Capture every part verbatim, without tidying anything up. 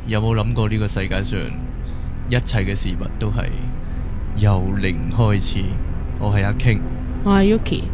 有冇諗過呢個世界上一切嘅事物都係由零開始？我係阿 King， 我係 Yuki。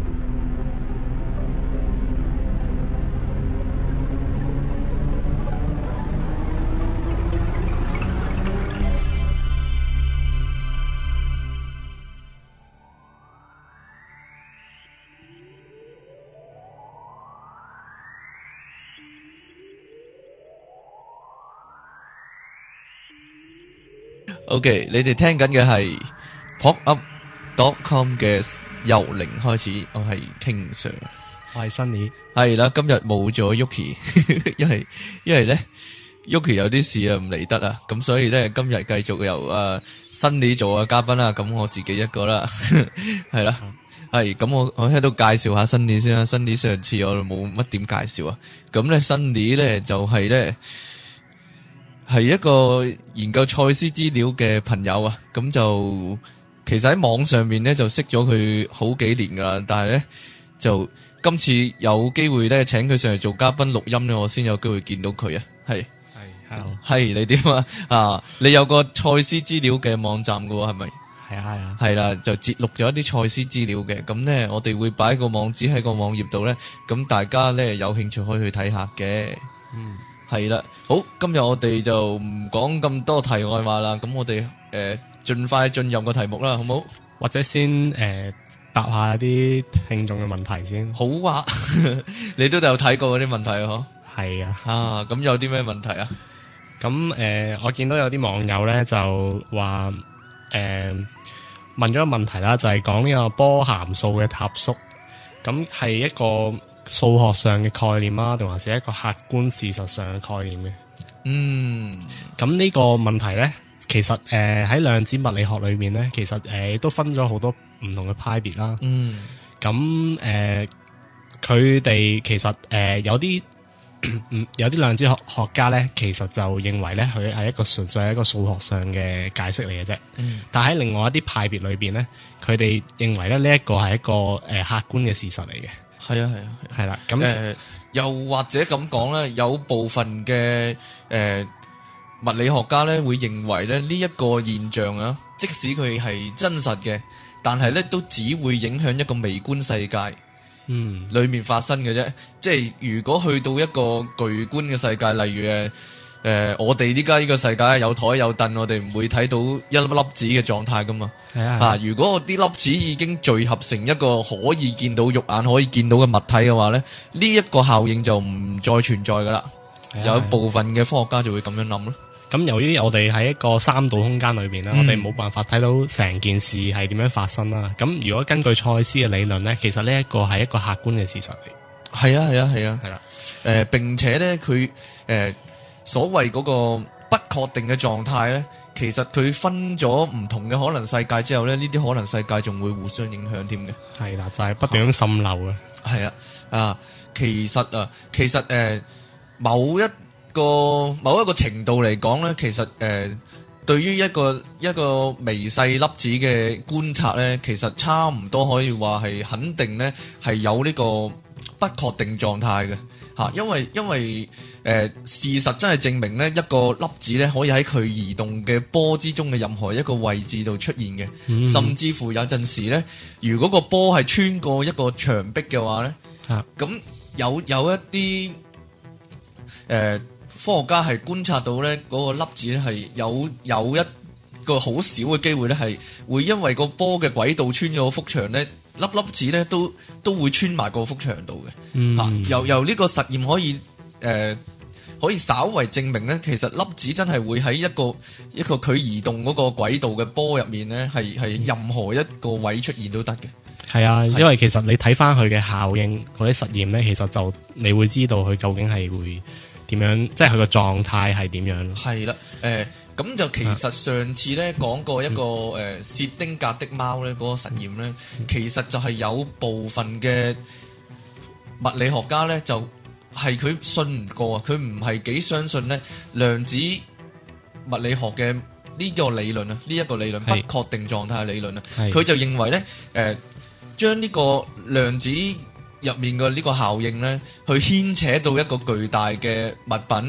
OK， 你哋聽緊嘅係 pop up dot com 嘅由零開始，我係 King Sir， 我係 Sunny， 係啦，今日冇咗 Yuki， 因為因為咧 Yuki 有啲事啊唔嚟得啊，咁所以咧今日繼續由誒 Sunny 做嘅嘉賓啦，咁我自己一個啦，係啦，係咁我我喺度介紹下 Sunny 先啦 ，Sunny 上次我冇乜點介紹啊，咁咧 Sunny 咧就係咧。係一個研究賽斯資料嘅朋友啊，咁就其實喺網上面咧就識咗佢好幾年噶啦，但係咧就今次有機會咧請佢上嚟做嘉賓錄音咧，我先有機會見到佢啊，係係，hello， 係你點啊？啊，你有個賽斯資料嘅網站噶喎，係咪？ 係啊係啊， 係啦，就節錄咗一啲賽斯資料嘅，咁咧我哋會擺個網址喺個網頁度咧，咁大家咧有興趣可以去睇下嘅，嗯。係啦，好，今日我哋就唔講咁多題外話啦，咁我哋誒盡快進入個題目啦，好唔好？ 或者先誒、呃、答下啲聽眾嘅問題先。 好啊，你都有睇過嗰啲問題啊？嗬， 係啊， 啊，咁有啲咩問題啊？ 咁誒、呃，我見到有啲網友咧就話誒、呃、問咗個問題啦，就係講呢個波函數嘅塌縮，咁係一個數學上嘅概念啊，定還是一個客觀事實上嘅概念嘅？嗯，咁呢個問題咧，其實誒喺量子物理學裏面咧，其實誒、呃、都分咗好多唔同嘅派別啦。嗯，咁誒佢哋其實誒、呃、有啲有啲量子學學家咧，其實就認為咧佢係一個純粹係一個數學上嘅解釋嚟嘅啫。嗯，但喺另外一啲派別裏邊咧，佢哋認為咧呢一個係一個誒、呃、客觀嘅事實嚟嘅。係啊係啊係啦，咁誒、呃、 又或者咁講咧，有部分嘅誒、呃、物理學家咧會認為咧呢一個現象啊，即使佢係真實嘅，但係咧都只會影響一個微觀世界，嗯，裏面發生嘅啫。即係如果去到一個巨觀嘅世界，例如誒。誒、呃，我哋依家呢個世界有台有凳，我哋唔會睇到一粒粒子嘅狀態噶嘛。係啊，啊，如果啲粒子已經聚合成一個可以見到肉眼可以見到嘅物體嘅話咧，呢、這、一個效應就唔再存在噶啦。有部分嘅科學家就會咁樣諗咯。 咁由於我哋喺一個三度空間裏邊咧，嗯、我哋冇辦法睇到成件事係點樣發生啦。咁如果根據賽斯嘅理論咧，其實呢一個係一個客觀嘅事實嚟。係啊，係啊，係啊，係啦。誒、呃，並且咧，佢誒。呃所謂嗰個不確定嘅狀態咧，其實佢分咗唔同嘅可能世界之後咧，呢啲可能世界仲會互相影響添嘅。係啦，就係、是、不斷咁滲漏嘅。係啊，啊，其實啊，其實誒、呃，某一個某一個程度嚟講咧，其實誒、呃，對於一個一個微細粒子嘅觀察咧，其實差唔多可以話係肯定咧，係有呢個不確定狀態嘅。吓，因為因為誒、呃、事實真係證明咧，一個粒子咧可以喺佢移動嘅波之中嘅任何一個位置度出現嘅，嗯、甚至乎有陣時咧，如果個波係穿過一個牆壁嘅話咧，咁、啊、有有一啲誒、呃、科學家係觀察到咧，嗰、那個粒子咧係有有一個好少嘅機會咧係會因為個波嘅軌道穿咗幅牆咧。粒粒子咧都都會穿埋個幅牆度嘅，嗯啊、由由呢個實驗可以誒、呃、可以稍為證明咧，其實粒子真係會喺一個一個佢移動嗰個軌道嘅波入面咧，係係任何一個位出現都得嘅。係啊，因為其實你睇翻佢嘅效應嗰啲實驗咧，其實就你會知道佢究竟係會點樣，即係佢個狀態係點樣。係啦，誒、呃。咁就其實上次咧講過一個誒、嗯呃、薛丁格的貓咧嗰個實驗咧，嗯、其實就係有部分嘅物理學家咧就係佢信唔過啊，佢唔係幾相信咧量子物理學嘅呢個理論啊，呢、這、一個理論是不確定狀態嘅理論啊，佢就認為咧誒將呢個量子入面嘅呢個效應咧，去牽扯到一個巨大嘅物品。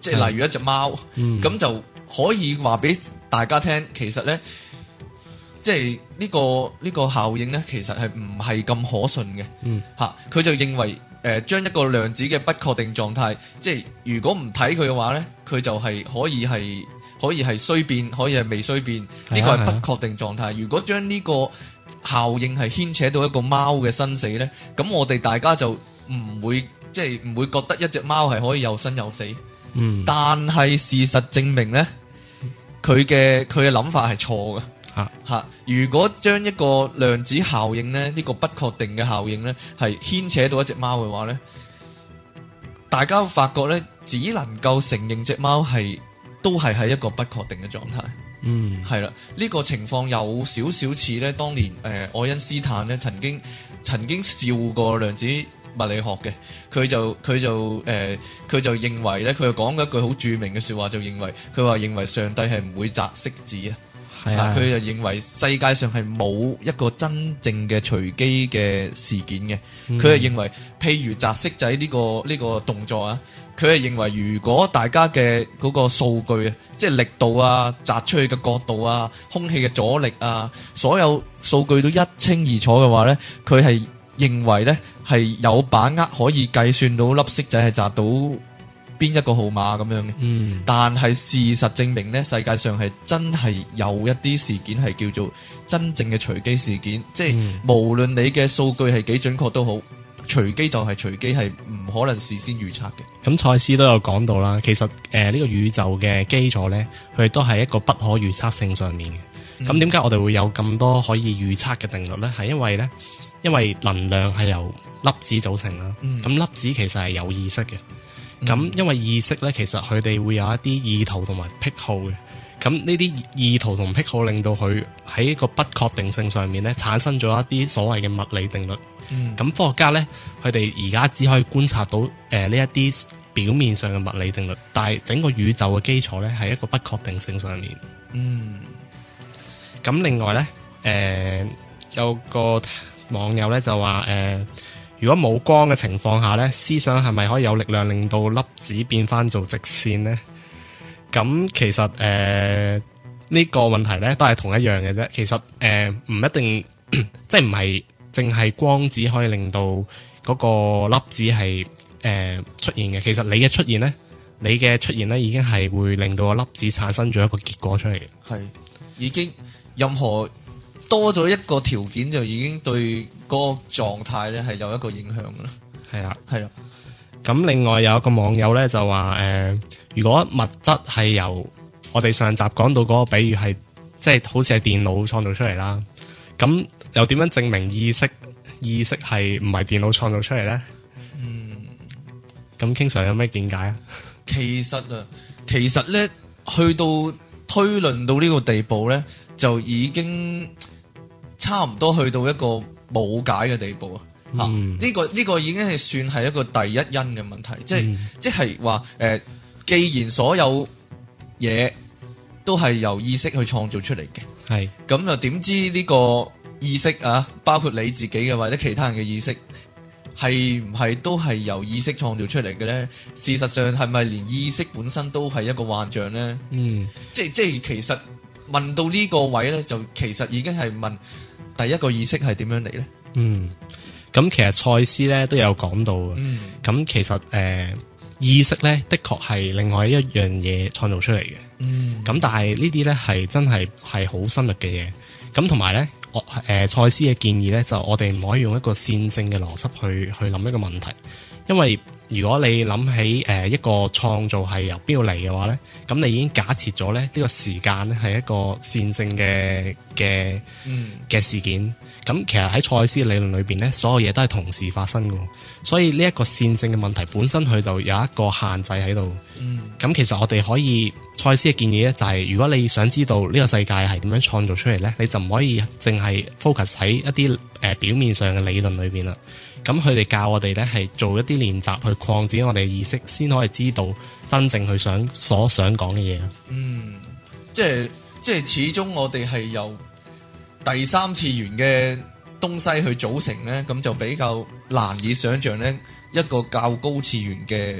即係例如一隻貓，咁、嗯、就可以話俾大家聽，其實咧，即係呢個呢、呢個效應咧，其實係唔係咁可信嘅。嗯，吓佢就認為誒，將、呃、一個量子嘅不確定狀態，即係如果唔睇佢嘅話咧，佢就係可以係可以係衰變，可以係未衰變，呢、呢個係不確定狀態。如果將呢個效應係牽扯到一個貓嘅生死咧，咁我哋大家就唔會即係唔會覺得一隻貓係可以有生有死。嗯，但係事實證明咧，佢嘅佢嘅諗法係錯嘅。吓吓，如果將一個量子效應咧，呢、呢個不確定嘅效應咧，係牽扯到一隻貓嘅話咧，大家發覺咧，只能夠承認隻貓係都係喺一個不確定嘅狀態。嗯，係啦，呢、呢個情況有少少似咧，當年誒、呃、愛因斯坦咧曾經曾經笑過量子物理學嘅，佢就佢就誒佢、呃、就認為咧，佢就講咗一句好著名嘅說話，就認為佢話認為上帝係唔會擲骰子啊。係啊，佢就認為世界上係冇一個真正嘅隨機嘅事件嘅。佢係、嗯、認為，譬如擲骰仔呢、呢個呢、呢個動作啊，佢係認為如果大家嘅嗰個數據啊，即係力度啊、擲出去嘅角度啊、空氣嘅阻力啊，所有數據都一清二楚嘅話咧，佢係認為咧係有把握可以計算到粒骰仔係擲到邊一個號碼咁樣嘅。嗯，但係事實證明咧，世界上係真係有一啲事件係叫做真正嘅隨機事件，即係、嗯、無論你嘅數據係幾準確都好，隨機就係隨機，係唔可能事先預測嘅。咁賽斯都有講到啦，其實誒呢、呃這個宇宙嘅基礎咧，佢都係一個不可預測性上面嘅。咁點解我哋會有咁多可以預測嘅定律咧？係因為咧，因為能量係由粒子組成啦。咁、嗯、粒子其實係有意識嘅。咁、嗯、因為意識咧，其實佢哋會有一啲意圖同埋癖好嘅。咁呢啲意圖同癖好令到佢喺一個不確定性上面咧，產生咗一啲所謂嘅物理定律。咁、嗯、科學家咧，佢哋而家只可以觀察到誒呢一啲表面上嘅物理定律，但係整個宇宙嘅基礎咧係一個不確定性上面。嗯。咁另外咧，誒、呃、有個網友咧就話誒。呃如果冇光嘅情況下咧，思想係咪可以有力量令到粒子變翻做直線呢？咁其實誒呢、呃這個問題咧都係同一樣嘅啫。其實誒唔、呃、一定，即係唔係淨係光子可以令到嗰個粒子係誒、呃、出現嘅。其實你嘅出現咧，你嘅出現咧已經係會令到個粒子產生咗一個結果出嚟嘅。係已經任何多咗一個條件就已經對嗰個狀態咧係有一個影響噶啦。係啊，係啦。咁另外有一個網友咧就話誒、呃，如果物質係由我哋上集講到嗰個比喻係即係好似係電腦創造出嚟啦，咁又點樣證明意識意識係唔係電腦創造出嚟咧？嗯，咁King Sir有咩見解啊？其實啊，其實咧去到推論到呢個地步咧，就已經差唔多去到一個冇解嘅地步啊！呢、嗯這個呢、這個已經係算係一個第一因嘅問題，即係、嗯、即係話誒，既然所有嘢都係由意識去創造出嚟嘅，係咁又點知呢個意識啊，包括你自己嘅或者其他人嘅意識，係唔係都係由意識創造出嚟嘅咧？事實上係咪連意識本身都係一個幻象咧？嗯，即係即係其實問到呢個位咧，就其實已經係問第一個意識係點樣嚟咧？嗯。咁其實賽斯咧都有講到嘅，咁、嗯、其實誒、呃、意識咧的確係另外一樣嘢創造出嚟嘅，咁、嗯、但係呢啲咧係真係係好深入嘅嘢，咁同埋咧我誒賽斯嘅建議咧就我哋唔可以用一個線性嘅邏輯去去諗一個問題，因為如果你諗起誒、呃、一個創造係由邊度嚟嘅話咧，咁你已經假設咗咧呢、這個時間咧係一個線性嘅嘅嘅事件。咁其實喺賽斯理論裏邊咧，所有嘢都係同時發生嘅，所以呢一個線性嘅問題本身佢就有一個限制喺度。嗯，咁其實我哋可以賽斯嘅建議咧，就係、是、如果你想知道呢個世界係點樣創造出嚟咧，你就唔可以淨係 focus 喺一啲誒、呃、表面上嘅理論裏邊啦。咁佢哋教我哋咧係做一啲練習去擴展我哋嘅意識，先可以知道真正佢想所想講嘅嘢。嗯，即係即係始終我哋係由第三次元嘅東西去組成咧，咁就比較難以想象咧一個較高次元嘅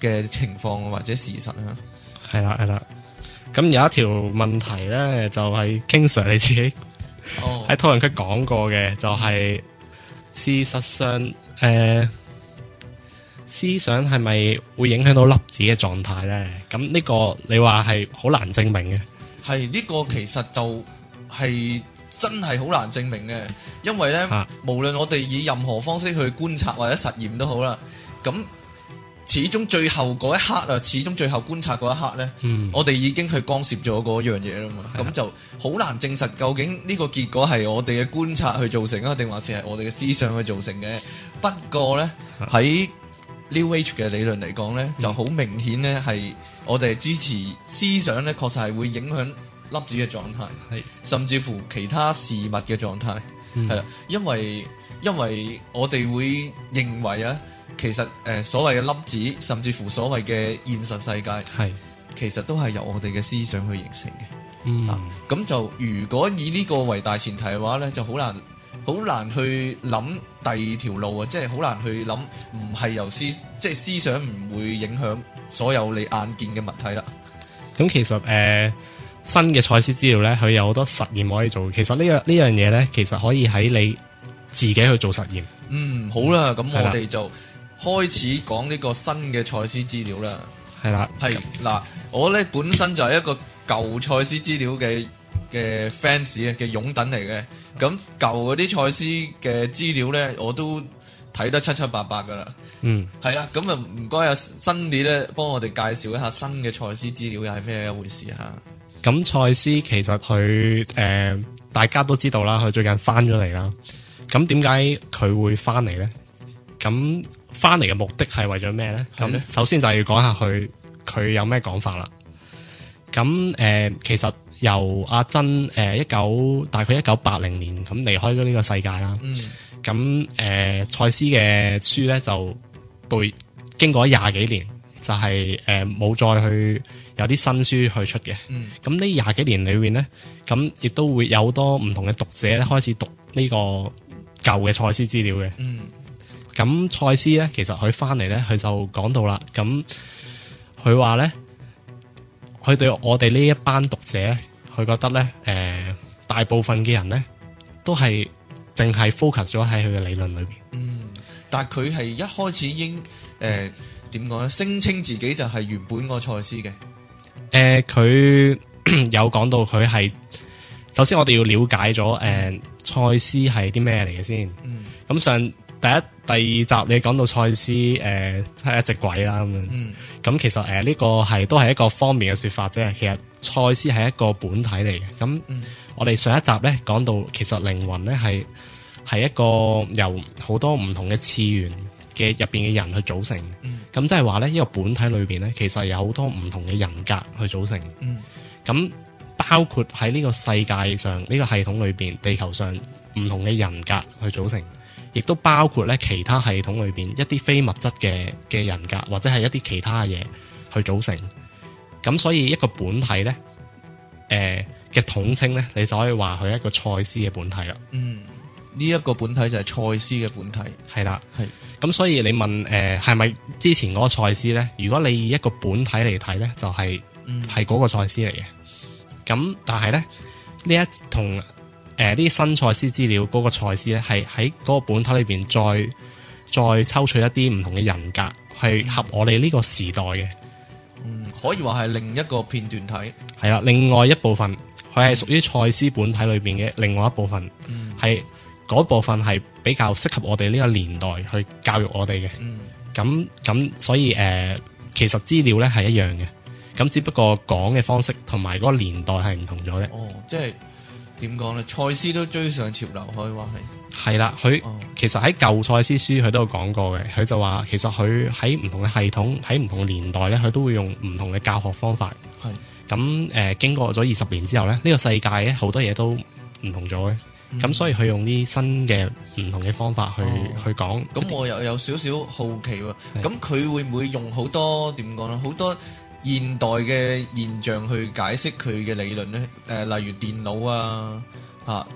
嘅情況或者事實啊。 係啦係啦，咁有一條問題咧，就係 King Sir 你自己喺討論區講過嘅，就係、是、事實上誒、呃、思想係咪會影響到粒子嘅狀態咧？咁呢個你話係好難證明嘅。 係呢、呢個其實就係真係好難證明嘅，因為咧、啊、無論我哋以任何方式去觀察或者實驗都好啦，咁始終最後嗰一刻啊，始終最後觀察嗰一刻咧、嗯，我哋已經去干涉咗嗰樣嘢啦嘛，咁就好難證實究竟呢個結果係我哋嘅觀察去造成啊，定還是係我哋嘅思想去造成嘅。不過咧喺 New Age 嘅理論嚟講咧，就好明顯咧係我哋支持思想咧，確實係會影響粒子嘅狀態，係甚至乎其他事物嘅狀態，係、嗯、啦，因為因為我哋會認為啊。其實誒、呃，所謂嘅粒子，甚至乎所謂嘅現實世界，係其實都係由我哋嘅思想去形成嘅。嗯，咁、啊、就如果以呢個為大前提嘅話咧，就好難好難去諗第二條路啊！即係好難去諗，唔係由思即係思想唔會影響所有你眼見嘅物體啦。 咁其實誒、呃，新嘅賽斯資料咧，佢有好多實驗可以做。其實、這個、呢樣呢樣嘢咧，其實可以喺你自己去做實驗。嗯，好啦，咁我哋就開始講呢個新嘅賽斯資料啦，係啦，係嗱，我咧本身就係一個舊賽斯資料嘅嘅 fans 啊，嘅擁躉嚟嘅，咁舊嗰啲賽斯嘅資料咧，我都睇得七七八八噶啦，嗯，係啦，咁啊唔該啊，新啲咧幫我哋介紹一下新嘅賽斯資料又係咩一回事啊？咁賽斯其實佢誒、呃、大家都知道啦，佢最近翻咗嚟啦，咁點解佢會翻嚟咧？咁翻嚟嘅目的係為咗咩咧？咁首先就係要講下佢佢有咩講法啦。咁誒、呃，其實由阿珍誒一九大概一九八零年咁離開咗呢個世界啦。咁、嗯、誒，賽、呃、斯嘅書咧就對經過廿幾年，就係誒冇再去有啲新書去出嘅。咁呢廿幾年裏邊咧，咁亦都會有好多唔同嘅讀者咧開始讀呢個舊嘅賽斯資料嘅。嗯咁賽斯咧，其實佢翻嚟咧，佢就講到啦。咁佢話咧，佢對我哋呢一班讀者，佢覺得咧，誒、呃，大部分嘅人咧，都係淨係 focus 咗喺佢嘅理論裏邊。嗯，但係佢係一開始已經誒點講咧，聲稱自己就係原本個賽斯嘅。誒、呃，佢有講到佢係，首先我哋要了解咗誒賽斯係啲咩嚟嘅先。嗯，咁上。第一、第二集你講到賽斯誒係一隻鬼啦咁樣，咁、嗯、其實誒呢、呃這個係都係一個方面嘅說法啫。其實賽斯係一個本體嚟嘅。咁、嗯、我哋上一集咧講到，其實靈魂咧係係一個由好多唔同嘅次元嘅入邊嘅人去組成。咁即係話咧，呢、這個本體裏邊咧，其實有好多唔同嘅人格去組成。咁、嗯、包括喺呢個世界上呢、這個系統裏邊，地球上唔同嘅人格去組成。亦都包括咧其他系統裏邊一啲非物質嘅嘅人格，或者係一啲其他嘢去組成。咁所以一個本體咧，誒、呃、嘅統稱咧，你就可以話佢係一個賽斯嘅本體啦。嗯，呢、這、一個本體就係賽斯嘅本體。係啦，係。咁所以你問誒係咪之前嗰個賽斯咧？如果你以一個本體嚟睇咧，就係係嗰個賽斯嚟嘅。咁但係咧呢一同。誒，啲新賽斯資料嗰個賽斯咧，係喺嗰個本體裏邊再再抽取一啲唔同嘅人格，係合我哋呢個時代嘅。嗯，可以話係另一個片段體。係啦，另外一部分佢係屬於賽斯本體裏邊嘅另外一部分，係、嗯、嗰部分係比較適合我哋呢個年代去教育我哋嘅。嗯，咁咁所以誒、呃，其實資料咧係一樣嘅，咁只不過講嘅方式同埋嗰個年代係唔同咗啫。哦，即係。點講咧？賽斯都追上潮流，可以話係係啦。佢、哦、其實喺舊賽斯書佢都有講過嘅。佢就話其實佢喺唔同嘅系統，喺唔同嘅年代咧，佢都會用唔同嘅教學方法。係咁誒，經過咗二十年之後咧，呢、這個世界咧好多嘢都唔同咗嘅。咁、嗯、所以佢用啲新嘅唔同嘅方法去、哦、去講。咁我又有少少好奇喎。咁佢會唔會用好多點講咧？好多現代嘅現象去解釋佢嘅理論咧，誒、呃，例如電腦啊，嚇、啊，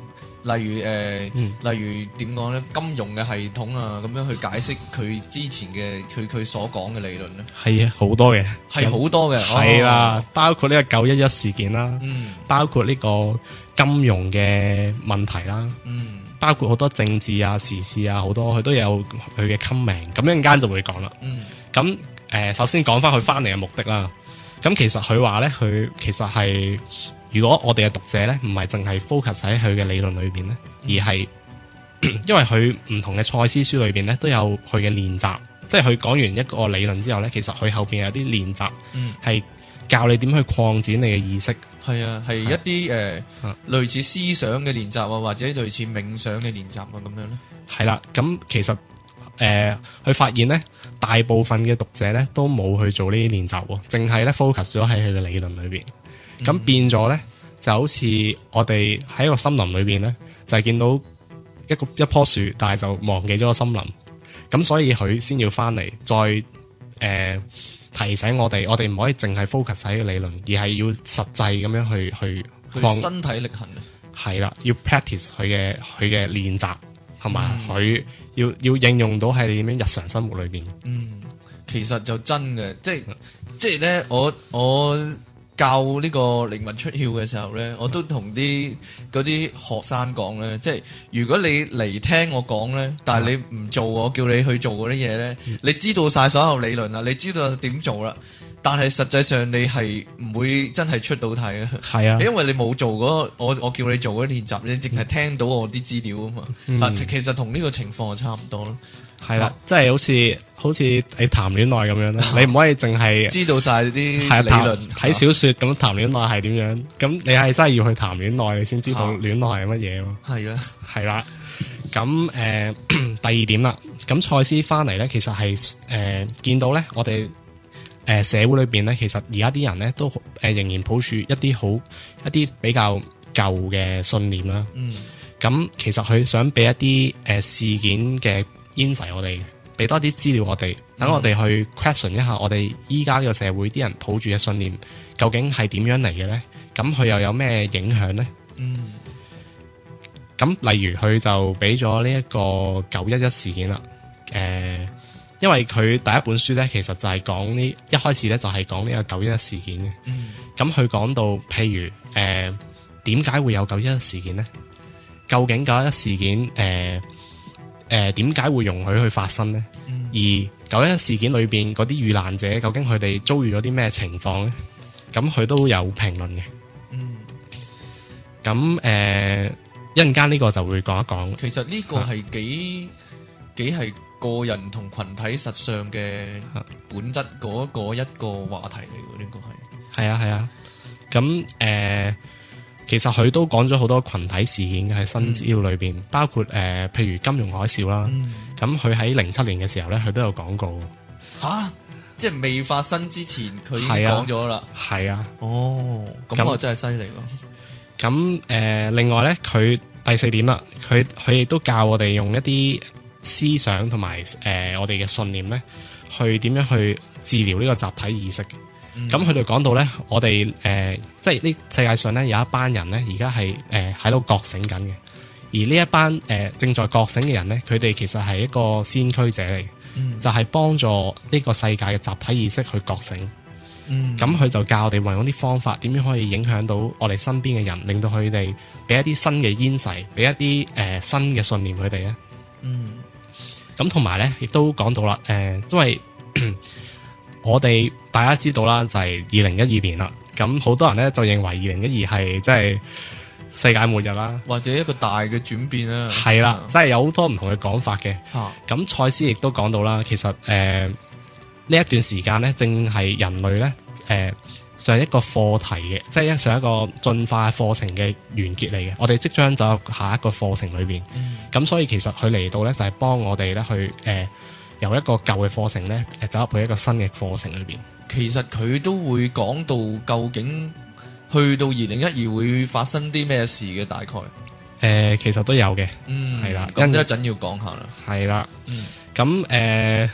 例如誒，呃嗯、例如點講咧？金融嘅系統啊，咁樣去解釋佢之前嘅佢佢所講嘅理論咧， 係啊，好多嘅， 係好多嘅， 係啦，哦、包括呢個九一一事件啦， 嗯， 包括呢個金融嘅問題啦， 嗯， 包括好多政治啊、時事啊，好多佢都有佢嘅 comment，咁一陣間就會講啦。 嗯， 咁誒、呃，首先講翻佢翻嚟嘅目的啦。咁其實佢話咧，佢其實係如果我哋嘅讀者咧，唔係淨係 focus 喺佢嘅理論裏邊咧，而係因為佢唔同嘅賽斯書裏邊咧都有佢嘅練習，即係佢講完一個理論之後咧，其實佢後邊有啲練習，係、嗯、教你點去擴展你嘅意識。 係啊，係一啲誒、呃啊、類似思想嘅練習啊，或者類似冥想嘅練習啊，咁樣咧。係啦，咁其實。誒，佢、呃、發現咧，大部分嘅讀者咧都冇去做呢啲練習，淨係咧 focus 咗喺佢嘅理論裏邊。咁、嗯、變咗咧，就好似我哋喺一個森林裏邊咧，就係、是、見到一個一棵樹，但係就忘記咗個森林。咁所以佢先要翻嚟，再誒、呃、提醒我哋，我哋唔可以淨係 focus 喺個理論，而係要實際咁樣去去去身體力行。 係啦，要 practice 佢嘅佢嘅練習，同埋佢。要要應用到喺你點樣日常生活裏邊。 嗯，其實就真嘅，即係即係咧，我我教呢個靈魂出竅嘅時候咧，我都同啲嗰啲學生講咧，即係如果你嚟聽我講咧，但係你唔做我叫你去做嗰啲嘢咧，嗯、你知道晒所有理論啦，你知道點做啦。但係實際上你係唔會真係出到題啊，係啊，因為你冇做嗰個我我叫你做嗰啲練習，你淨係聽到我啲資料啊嘛，嗯、啊其實同呢個情況就差唔多咯，係啦、啊， 即係好似好似你談戀愛咁樣啦，你唔可以淨係知道晒啲理論， 睇小說咁談戀愛係點樣，咁你係真係要去談戀愛，你先知道戀愛係乜嘢咯， 係啦， 係啦，咁誒、呃、第二點啦，咁賽斯翻嚟咧，其實係誒、呃、見到咧，我哋。誒、呃，社會裏邊咧，其實而家啲人咧都誒、呃、仍然抱住一啲好一啲比較舊嘅信念啦。嗯，咁其實佢想俾一啲誒、呃、事件嘅 insight我哋，俾多啲資料我哋，等我哋去 question 一下我哋依家呢個社會啲人抱住嘅信念究竟係點樣嚟嘅咧？咁佢又有咩影響咧？嗯，咁例如佢就俾咗呢一個九一一事件啦，誒、呃。因為佢第一本書咧，其實就係講呢一開始咧就係講呢個九一一事件嘅。咁佢講到，譬如誒點解會有九一一事件咧？究竟九一一事件誒誒點解會容許去發生咧？嗯、而九一一事件裏邊嗰啲遇難者，究竟佢哋遭遇咗啲咩情況咧？咁佢都有評論嘅。嗯。咁誒一陣間呢個就會講一講。 其實呢個係幾、啊、幾係。個人同群體實相嘅本質嗰個一個話題嚟嘅，呢個係係啊係啊，咁誒、呃，其實佢都講咗好多群體事件嘅喺新資料裏邊，嗯、包括誒、呃，譬如金融海嘯啦，咁佢喺零七年嘅時候咧，佢都有講過。吓，即係未發生之前，佢已經講咗啦。係啊，哦，咁我真係犀利咯。咁誒、呃，另外咧，佢第四點啦，佢佢亦都教我哋用一啲。思想同埋誒我哋嘅信念咧，去點樣去治療呢個集體意識嘅？咁佢哋講到咧，我哋誒、呃、即係呢世界上咧有一班人咧，而家係誒喺度覺醒緊嘅。而呢一班誒、呃、正在覺醒嘅人咧，佢哋其實係一個先驅者嚟嘅，嗯、就係幫助呢個世界嘅集體意識去覺醒。咁佢、嗯、就教我哋運用啲方法，點樣可以影響到我哋身邊嘅人，令到佢哋俾一啲新嘅煙勢，俾一啲誒、呃、新嘅信念佢哋咧。嗯。咁同埋咧，亦都講到啦，誒、呃，因為我哋大家知道啦，就係二零一二年啦。咁好多人咧就認為二零一二係即係世界末日啦，或者一個大嘅轉變啦。係啦，即係有好多唔同嘅講法嘅。咁賽斯亦都講到啦，其實誒呢、呃、一段時間咧，正係人類咧誒。呃上一個課題嘅，即係上一個進化課程嘅完結嚟嘅。我哋即將走入下一個課程裏邊，咁、嗯、所以其實佢嚟到咧就係、是、幫我哋咧去誒、呃、由一個舊嘅課程咧誒走入去一個新嘅課程裏邊。其實佢都會講到究竟去到二零一二會發生啲咩事嘅大概。誒、呃，其實都有嘅，嗯，係啦，咁一陣要講下啦，係啦，嗯，咁誒。呃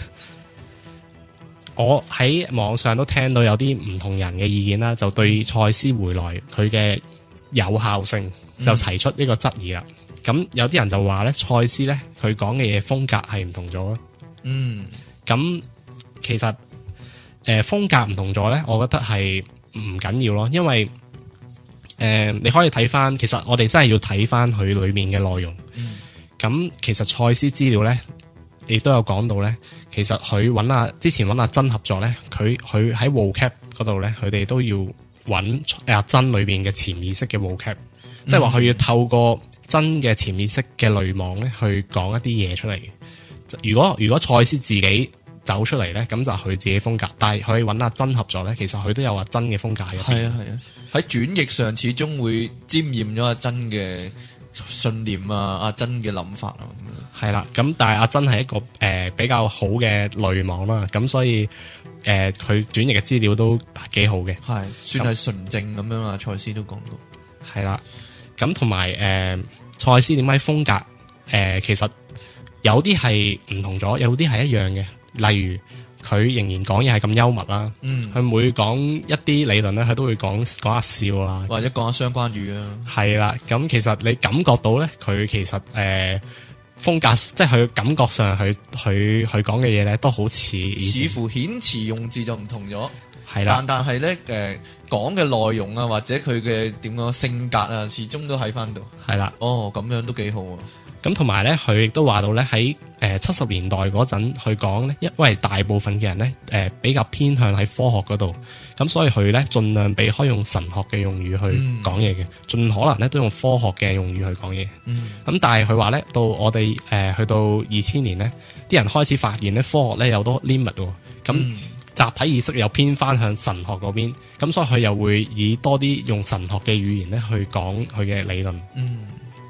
我喺網上都聽到有啲唔同人嘅意見啦，就對賽斯回來佢嘅有效性就提出呢個質疑啦。 咁有啲人就話咧，賽斯咧佢講嘅嘢風格係唔同咗咯。 嗯， 咁其實誒、呃、風格唔同咗咧，我覺得係唔緊要咯，因為誒、呃、你可以睇翻，其實我哋真係要睇翻佢裏面嘅內容。咁、嗯、其實賽斯資料咧，亦都有講到咧，其實佢揾阿之前揾阿珍合作咧，佢佢喺 vocab 嗰度咧，佢哋都要揾阿珍裏邊嘅潛意識嘅 vocab，即係話佢要透過真嘅潛意識嘅濾網咧，去講一啲嘢出嚟嘅。如果如果賽斯自己走出嚟咧，咁就佢自己風格。但係佢揾阿珍合作咧，其實佢都有阿珍嘅風格喺入邊。係啊係啊，喺轉譯上始終會沾染咗阿珍嘅信念啊，阿珍嘅諗法啊。係啦，咁但係阿珍係一個誒、呃、比較好嘅濾網啦，咁所以誒佢轉譯嘅資料都幾好嘅。係算係純正咁樣啊，賽斯都講到。係啦，咁同埋誒賽斯點解風格誒、呃、其實有啲係唔同咗，有啲係一樣嘅。例如佢仍然講嘢係咁幽默啦，佢、嗯、每講一啲理論咧，佢都會講講下笑啊，或者講下相關語啊。係啦，咁其實你感覺到咧，佢其實誒、呃、風格，即係佢感覺上佢佢佢講嘅嘢咧，都好似似乎遣詞用字就唔同咗。係啦，但但係咧誒講嘅內容啊，或者佢嘅點講性格啊，始終都喺翻度。係啦，哦咁樣都幾好啊。咁同埋咧，佢亦都話到咧喺誒七十年代嗰陣，佢講咧，因為大部分嘅人咧誒、呃、比較偏向喺科學嗰度，咁所以佢咧盡量避開用神學嘅用語去講嘢嘅，盡、嗯、可能咧都用科學嘅用語去講嘢。咁、嗯、但係佢話咧，到我哋誒、呃、去到二千年咧，啲人開始發現咧科學咧有多 limit 喎，咁、嗯、集體意識又偏翻向神學嗰邊，咁所以佢又會以多啲用神學嘅語言咧去講佢嘅理論。嗯。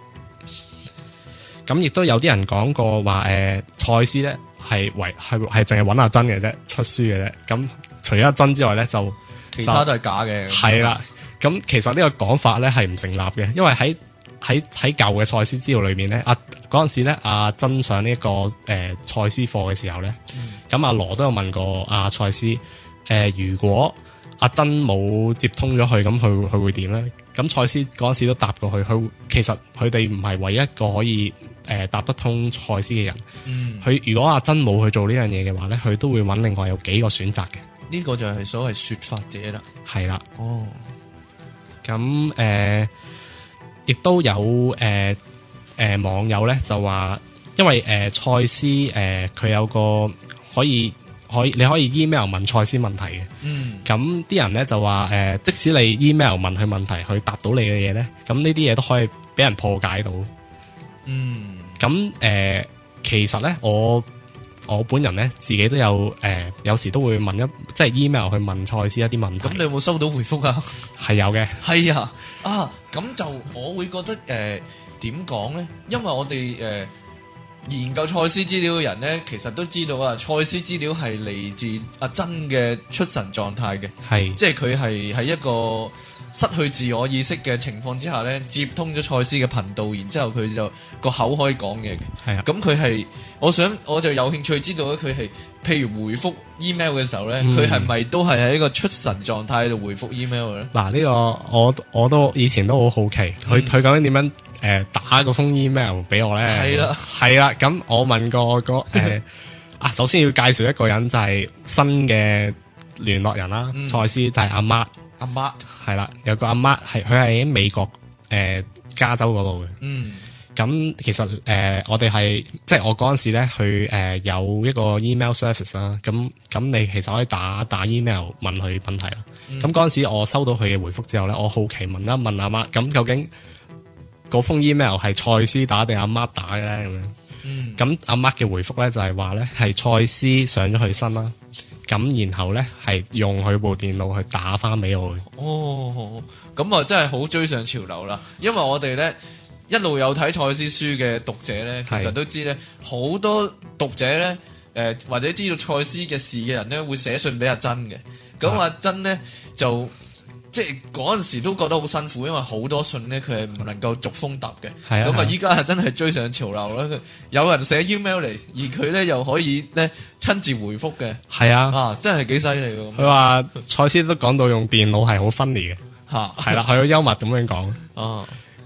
咁亦都有啲人講過話，誒、呃，賽斯咧係為係係淨係揾阿珍嘅啫，出書嘅啫。咁除咗阿珍之外咧，就其他都係假嘅。係啦，咁其實呢個講法咧係唔成立嘅，因為喺喺喺舊嘅賽斯資料裏面咧，阿嗰陣時咧阿珍上呢、這、一個誒賽斯課嘅時候咧，咁阿羅都有問過阿賽斯，誒、呃、如果阿珍冇接通咗佢，咁佢佢會點咧？咁賽斯嗰陣時都答過佢，佢其實佢哋唔係唯一一個可以。誒、呃，答得通賽斯嘅人，佢、嗯、如果阿珍冇去做呢樣嘢嘅話咧，佢都會揾另外有幾個選擇嘅。呢、這個就係所謂說法者啦。係啦。哦。咁誒，亦、呃、都有誒誒、呃呃、網友咧就話，因為誒賽斯誒佢有個可以可以你可以 email 問賽斯問題嘅。嗯。咁啲人咧就話誒、呃，即使你 email 問佢問題，佢答到你嘅嘢咧，咁呢啲嘢都可以俾人破解到。嗯，咁誒、呃，其實咧，我我本人咧自己都有誒、呃，有時都會問一即係 email 去問賽斯一啲問題。咁你有冇收到回覆啊？係有嘅。係啊，啊，咁就我會覺得誒，點講咧？因為我哋誒、呃、研究賽斯資料嘅人咧，其實都知道啊，賽斯資料係嚟自阿珍嘅出神狀態嘅，係，即係佢係喺一個失去自我意識嘅情況之下咧，接通咗賽斯嘅頻道，然之後佢就個口可以講嘢嘅。係啊，咁佢係，我想我就有興趣知道咧，佢係譬如回覆 email 嘅時候咧，佢係咪都係喺一個出神狀態度回覆 email 咧？嗱，呢個我我都以前都好好奇，佢佢究竟點樣誒、呃、打嗰封 email 俾我咧？係啦，係啦，咁我問過個誒、呃、啊，首先要介紹一個人就係新嘅聯絡人啦，賽、嗯、斯就係阿媽。阿媽係啦，有個阿媽係佢係喺美國誒、呃、加州嗰度嘅。嗯，咁其實誒、呃、我哋係即係我嗰陣時咧去誒、呃、有一個 email service 啦。咁咁你其實可以打打 email 問佢問題啦。咁嗰陣時我收到佢嘅回覆之後咧，我好奇問一問阿媽，咁究竟嗰封 email 係賽斯打定阿媽打嘅咧？咁樣。嗯，咁阿媽嘅回覆咧就係話咧係賽斯上咗佢身啦。咁然後咧係用佢部電腦去打翻俾我嘅。哦，咁啊真係好追上潮流啦！因為我哋咧一路有睇賽斯書嘅讀者咧，其實都知咧好多讀者咧誒、呃、或者知道賽斯嘅事嘅人咧會寫信俾阿珍嘅。咁阿珍咧就即係嗰陣時都覺得好辛苦，因為好多信咧佢係唔能夠逐封答嘅。係啊，咁啊依家係真係追上潮流啦！有人寫 email 嚟，而佢咧又可以咧親自回覆嘅。係啊，啊真係幾犀利㗎！佢話賽斯都講到用電腦係好分離嘅。嚇，係啦，佢好幽默咁樣講。哦，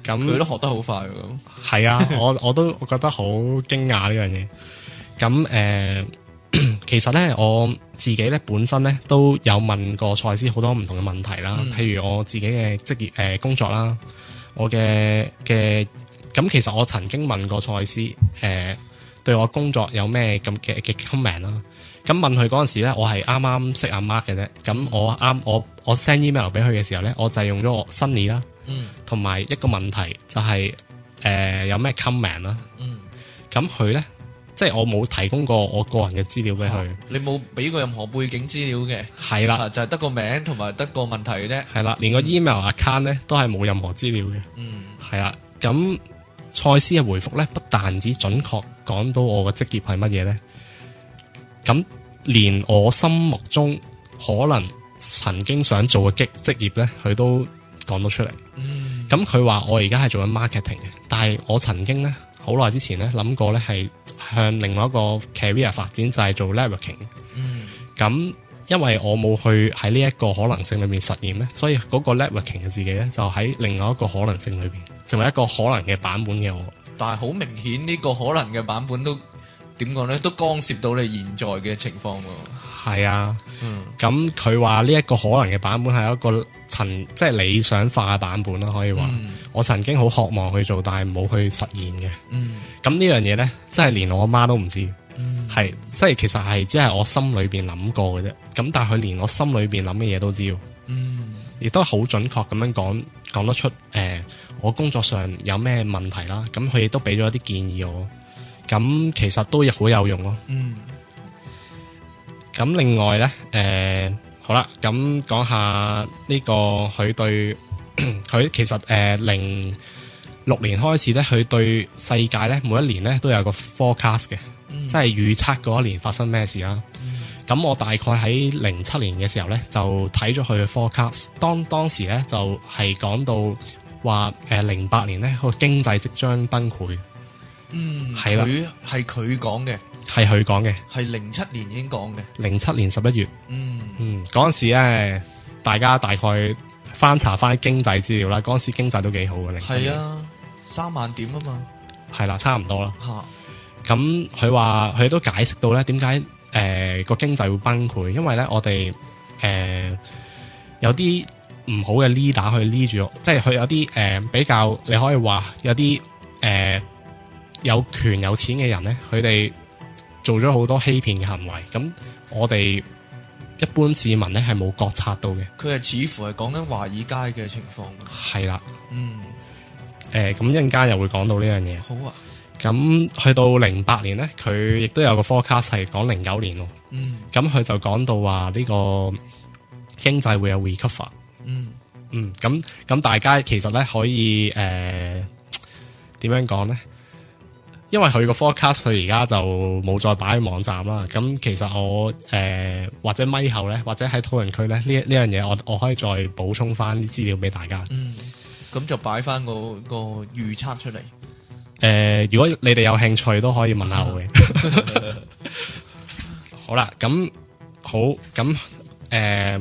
咁佢都學得好快喎。 係啊，我我都我覺得好驚訝呢樣嘢。咁誒、呃，其實咧我自己咧本身咧都有問過賽斯好多唔同嘅問題啦，嗯、譬如我自己嘅職業誒、呃、工作啦，我嘅嘅咁其實我曾經問過賽斯誒、呃、對我工作有咩咁嘅嘅 comment 啦。咁問佢嗰陣時咧，我係啱啱識阿 Mark 嘅啫。咁我啱我我 send email 俾佢嘅時候咧，我就係用咗我 Sunny 啦，同埋一個問題就係、是、誒、呃、有咩 comment 啦。咁佢咧，即係我冇提供過我個人嘅資料俾佢、啊。 你冇俾過任何背景資料嘅？係啦，就係得個名同埋得個問題嘅啫。係啦， 連個 email account 咧都係冇任何資料嘅。嗯，係啦。咁賽斯嘅回覆咧，不但止準確講到我嘅職業係乜嘢咧。咁連我心目中可能曾經想做嘅職職業咧，佢都講到出嚟。咁佢話我而家係做緊 marketing 嘅，但係我曾經咧好耐之前咧諗過咧係向另外一個 career 發展，就係、是、做 networking。咁、嗯、因為我冇去喺呢一個可能性裏面實驗咧，所以嗰個 networking 嘅自己咧就喺另外一個可能性裏邊成為一個可能嘅版本嘅我。 但係好明顯呢個可能嘅版本都。點講咧，都干涉到你現在嘅情況喎。 係啊，咁佢話呢一個可能嘅版本係一個曾即係理想化嘅版本啦，可以話。嗯、我曾經好渴望去做，但係冇去實現嘅。咁、嗯、呢樣嘢咧，真係連我阿媽都唔知。係、嗯，即係其實係只係我心裏邊諗過嘅啫。咁但係佢連我心裏邊諗嘅嘢都知。嗯，亦都好準確咁樣講講得出。誒、呃，我工作上有咩問題啦？咁佢亦都俾咗一啲建議我。咁其實都好有用咯。嗯。咁另外咧，誒、呃，好啦，咁講下呢、這個佢對佢其實誒零六年開始咧，佢對世界咧每一年咧都有個 forecast 嘅，嗯、即係預測嗰一年發生咩事啦。咁、嗯、我大概喺零七年嘅時候咧，就睇咗佢嘅 forecast。當當時咧就係、是、講到話，誒零八年咧個經濟即將崩潰。 嗯，係啦，佢係佢講嘅， 係佢講嘅， 係零七年已經講嘅， 零七年十一月。嗯嗯，嗰陣時咧，大家大概翻查翻經濟資料啦，嗰陣時經濟都幾好嘅。 係啊，三萬點啊嘛， 係啦，差唔多啦。吓，咁佢話佢都解釋到咧，點解誒個經濟會崩潰？因為咧我哋誒、呃、有啲唔好嘅 leader 去 lead 住，即係佢有啲誒、呃、比較，你可以話有啲誒。呃有權有錢嘅人咧，佢哋做咗好多欺騙嘅行為，咁我哋一般市民咧係冇覺察到嘅。 佢係似乎係講緊華爾街嘅情況。係啦，嗯， 誒咁一陣間又會講到呢樣嘢。 好啊， 咁去到零八年咧，佢亦都有個 forecast 係講零九年咯。嗯，咁佢就講到話呢個經濟會有 recover。嗯嗯，咁咁大家其實咧可以誒點樣講咧？因為佢個 forecast 佢而家就冇再擺喺網站啦，咁其實我誒、呃、或者咪後咧，或者喺討論區咧呢呢樣嘢，我我可以再補充翻啲資料俾大家。 嗯，咁就擺翻個個預測出嚟。誒、 呃，如果你哋有興趣都可以問下我嘅。好啦，咁好，咁誒、呃，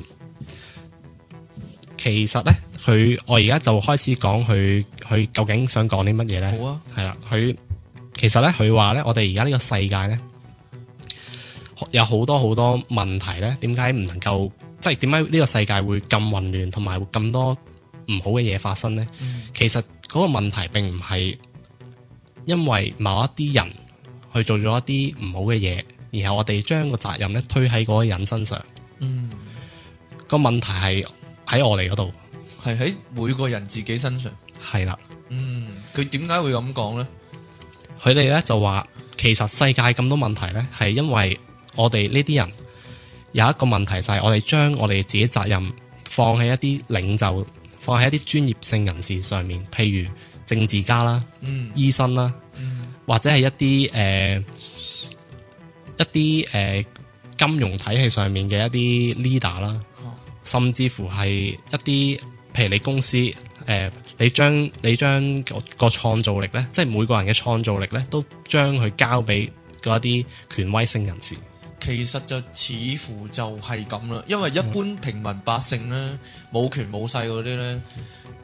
其實咧，佢我而家就開始講佢佢究竟想講啲乜嘢咧？好啊，係啦，佢。其實咧，佢話咧，我哋而家呢個世界咧，有好多好多問題咧。點解唔能夠，即係點解呢個世界會咁混亂，同埋會咁多唔好嘅嘢發生咧？嗯、其實嗰個問題並唔係因為某一啲人去做咗一啲唔好嘅嘢，然後我哋將個責任咧推喺嗰個人身上。嗯，個問題係喺我哋嗰度， 係喺每個人自己身上。係啦，嗯，佢點解會咁講咧？ 佢哋咧就話，其實世界咁多問題咧，係因為我哋呢啲人有一個問題，就係我哋將我哋自己責任放喺一啲領袖，放喺一啲專業性人士上面，譬如政治家啦、嗯、醫生啦，嗯、或者係一啲誒、呃、一啲誒、呃、金融體系上面嘅一啲 leader 啦，哦、甚至乎係一啲譬如你公司。誒、呃，你將你將個個創造力咧，即係每個人嘅創造力咧，都將佢交俾嗰一啲權威性人士。 其實就似乎就係咁啦，因為一般平民百姓咧，冇權冇勢嗰啲咧，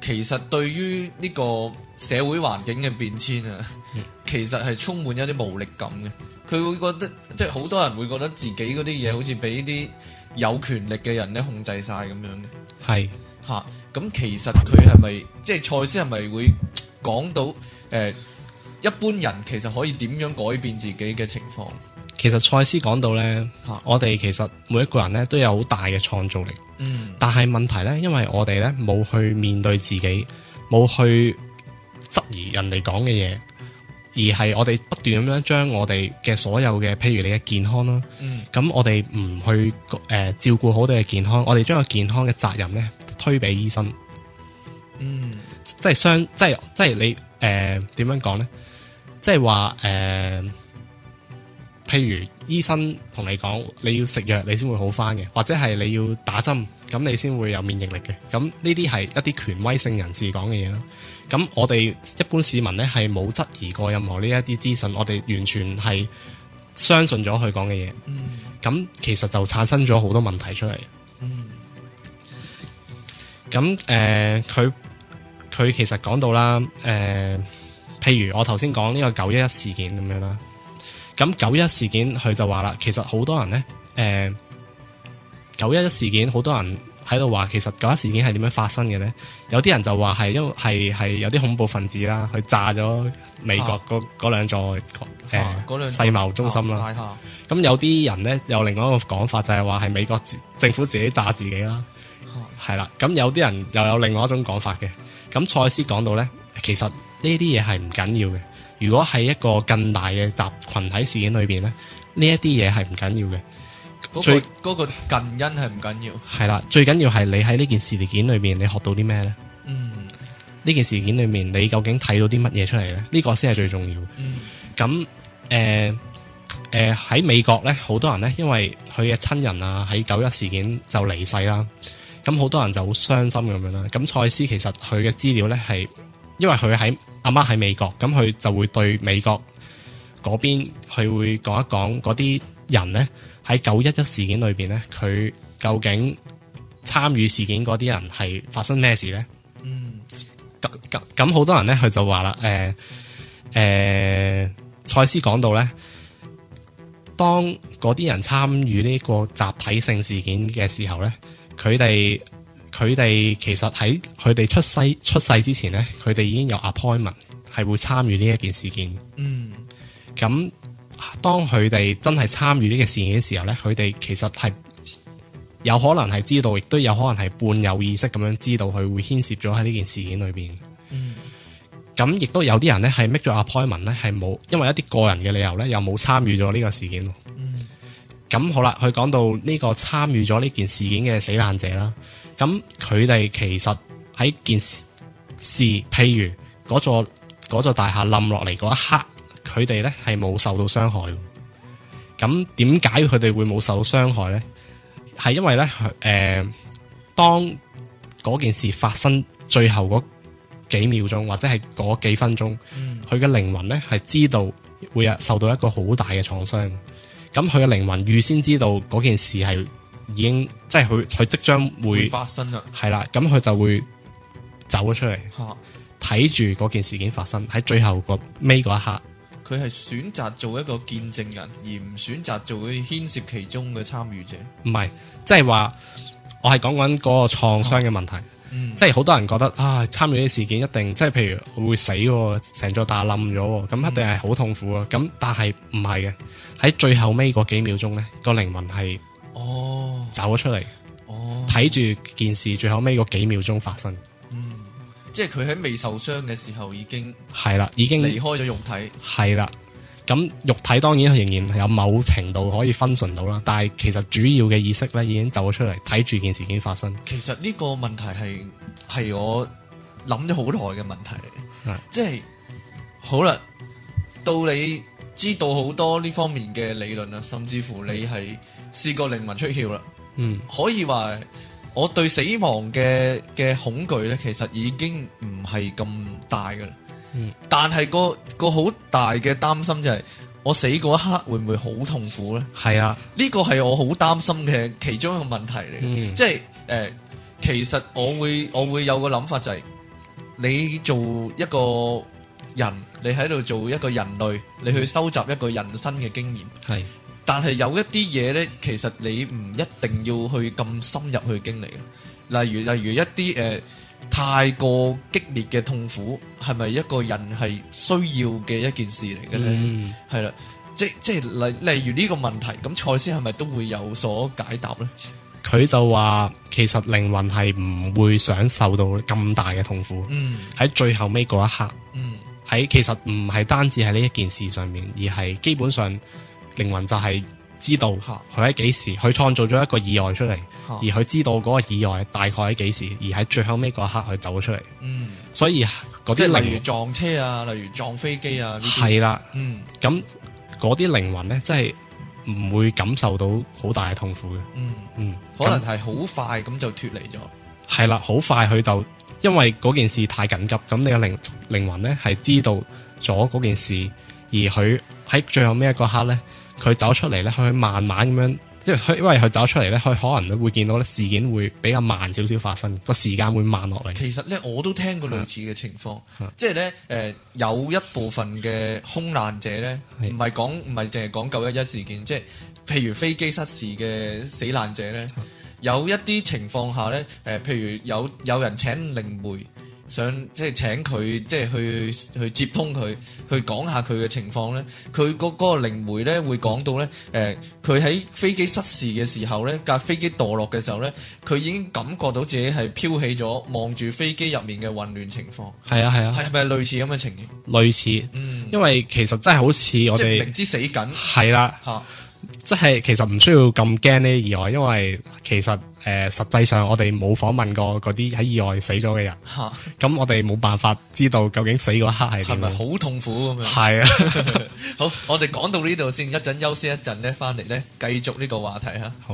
其實對於呢個社會環境嘅變遷啊，嗯、其實係充滿一啲無力感嘅。佢會覺得，即係好多人會覺得自己嗰啲嘢好似俾啲有權力嘅人咧控制晒咁樣嘅。 係吓，咁、啊、其實佢係咪即係賽斯係咪會講到誒、呃，一般人其實可以點樣改變自己嘅情況？ 其實賽斯講到咧，啊、我哋其實每一個人咧都有好大嘅創造力。嗯，但係問題咧，因為我哋咧冇去面對自己，冇去質疑人哋講嘅嘢。而係我哋不斷咁樣將我哋嘅所有嘅，譬如你嘅健康啦，咁、嗯、我哋唔去誒、呃、照顧好你嘅健康，我哋將個健康嘅責任咧推俾醫生。嗯，即係相，即係即係你誒點樣講咧？即係話誒，譬如醫生同你講你要食藥，你先會好翻嘅，或者係你要打針，咁你先會有免疫力嘅。咁呢啲係一啲權威性人士講嘅嘢啦。咁我哋一般市民咧係冇質疑過任何呢一啲資訊，我哋完全係相信咗佢講嘅嘢。咁、嗯、其實就產生咗好多問題出嚟。咁誒、嗯，佢佢、呃、其實講到啦，誒、呃，譬如我頭先講呢個九一一事件咁樣啦。咁九一一事件佢就話啦，其實好多人咧，誒、呃，九一一事件好多人喺度話，其實九一事件係點樣發生嘅咧？有啲人就話係因為係係有啲恐怖分子啦，去炸咗美國嗰嗰兩座誒世貿中心啦。咁、啊、有啲人咧有另外一個講法，就係話係美國政府自己炸自己啦。係啦、啊，咁有啲人又有另外一種講法嘅。咁賽斯講到咧，其實呢啲嘢係唔緊要嘅。如果係一個更大嘅集群體事件裏邊咧，呢一啲嘢係唔緊要嘅。 嗰、 最嗰個嗰個近因係唔緊要， 係啦，最緊要係你喺呢件事件裏面你學到啲咩咧？嗯，呢件事件裏面你究竟睇到啲乜嘢出嚟咧？呢、呢個先係最重要。嗯，咁誒誒喺美國咧，好多人咧，因為佢嘅親人啊喺九一事件就離世啦，咁好多人就好傷心咁樣啦。咁賽斯其實佢嘅資料咧係，因為佢喺阿媽喺美國，咁佢就會對美國嗰邊佢會講一講嗰啲人咧。喺九一一事件裏邊咧，佢究竟參與事件嗰啲人係發生咩事咧？嗯，咁咁咁好多人咧，佢就話啦，誒、呃、誒，賽斯講到咧，當嗰啲人參與呢個集體性事件嘅時候咧，佢哋佢哋其實喺佢哋出世出世之前咧，佢哋已經有 appointment 係會參與呢一件事件。嗯，咁。當佢哋真係參與呢個事件嘅時候咧，佢哋其實係有可能係知道，亦都有可能係半有意識咁樣知道佢會牽涉咗喺呢件事件裏邊。嗯，咁亦都有啲人咧係 make 咗 appointment 咧，係冇因為一啲個人嘅理由咧，又冇參與咗呢個事件。嗯，咁好啦，佢講到呢個參與咗呢件事件嘅死難者啦，咁佢哋其實喺件事，譬如嗰座嗰座大廈冧落嚟嗰一刻。佢哋咧係冇受到傷害，咁點解佢哋會冇受到傷害咧？係因為咧，誒、呃，當嗰件事發生最後嗰幾秒鐘或者係嗰幾分鐘，佢嘅靈魂咧係知道會有受到一個好大嘅創傷，咁佢嘅靈魂預先知道嗰件事係已經即係佢佢即將會，會發生啦，係啦，咁佢就會走咗出嚟，睇住嗰件事件發生喺最後個尾嗰一刻。 佢係選擇做一個見證人，而唔選擇做佢牽涉其中嘅參與者。唔係，即係話我係講緊嗰個創傷嘅問題。嗯、即係好多人覺得啊，參與呢啲事件一定即係譬如會死，成座大冧咗，咁一定係好痛苦啊。咁、嗯、但係唔係嘅，喺最後尾嗰幾秒鐘咧，個靈魂係哦走咗出嚟，哦睇住件事最後尾嗰幾秒鐘發生。即係佢喺未受傷嘅時候已經係啦，已經離開咗肉體。係啦，咁肉體當然仍然有某程度可以分純到啦，但係其實主要嘅意識咧已經走咗出嚟，睇住件事件發生。其實呢個問題係係我諗咗好耐嘅問題嚟，即係好啦，到你知道好多呢方面嘅理論啦，甚至乎你係試過靈魂出竅啦，嗯，可以話。我對死亡嘅嘅恐懼咧，其實已經唔係咁大噶啦。嗯，但係個個好大嘅擔心就係、是、我死嗰一刻會唔會好痛苦咧？係啊，呢個係我好擔心嘅其中一個問題嚟嘅。嗯，即係誒、呃，其實我會我會有個諗法就係、是， 你做一個人，你喺度做一個人類，你去收集一個人生嘅經驗， 係。 但係有一啲嘢呢，其實你唔一定要去咁深入去經歷。例如，例如一啲誒、呃、太過激烈嘅痛苦，係咪一個人係需要嘅一件事嚟嘅呢？係啦、嗯，即即係例例如呢個問題，咁賽斯係咪都會有所解答呢？ 佢就話其實靈魂係唔會想受到咁大嘅痛苦。嗯，喺最後尾嗰一刻，嗯，喺其實唔係單止喺呢一件事上面，而係基本上。靈魂就係知道佢喺幾時，佢創造咗一個意外出嚟，而佢知道嗰個意外大概喺幾時，而喺最後尾嗰一刻佢走咗出嚟。嗯，所以嗰啲即係例如撞車啊，例如撞飛機啊， 係啦。 嗯， 咁嗰啲靈魂咧，真係唔會感受到好大嘅痛苦嘅。嗯嗯， 可能係好快咁就脫離咗。 係啦，好快佢就因為嗰件事太緊急，咁你嘅靈靈魂咧係知道咗嗰件事，而佢喺最後尾一個刻咧。佢走出嚟咧，佢慢慢咁樣，即係佢因為佢走出嚟咧，佢可能都會見到咧事件會比較慢少少發生，個時間會慢落嚟。 其實咧，我都聽過類似嘅情況，即係咧誒有一部分嘅空難者咧，唔係講唔係淨係講九一一事件，即係譬如飛機失事嘅死難者咧，有一啲情況下咧，誒、呃、譬如有有人請靈媒。想即係請佢即係去去接通佢，去講下佢嘅情況咧。佢嗰嗰個靈媒咧會講到咧，誒佢喺飛機失事嘅時候咧，架飛機墮落嘅時候咧，佢已經感覺到自己係飄起咗，望住飛機入面嘅混亂情況。係啊係啊，係咪類似咁嘅情形？ 類似，嗯，因為其實真係好似我哋明知死緊， 係啦嚇。即係其實唔需要咁驚呢啲意外，因為其實誒、呃、實際上我哋冇訪問過嗰啲喺意外死咗嘅人，咁、啊、我哋冇辦法知道究竟死嗰刻係點，係咪好痛苦咁樣？ 係啊， 好，我哋講到呢度先，一陣休息一陣咧，翻嚟咧繼續呢個話題吓。 好。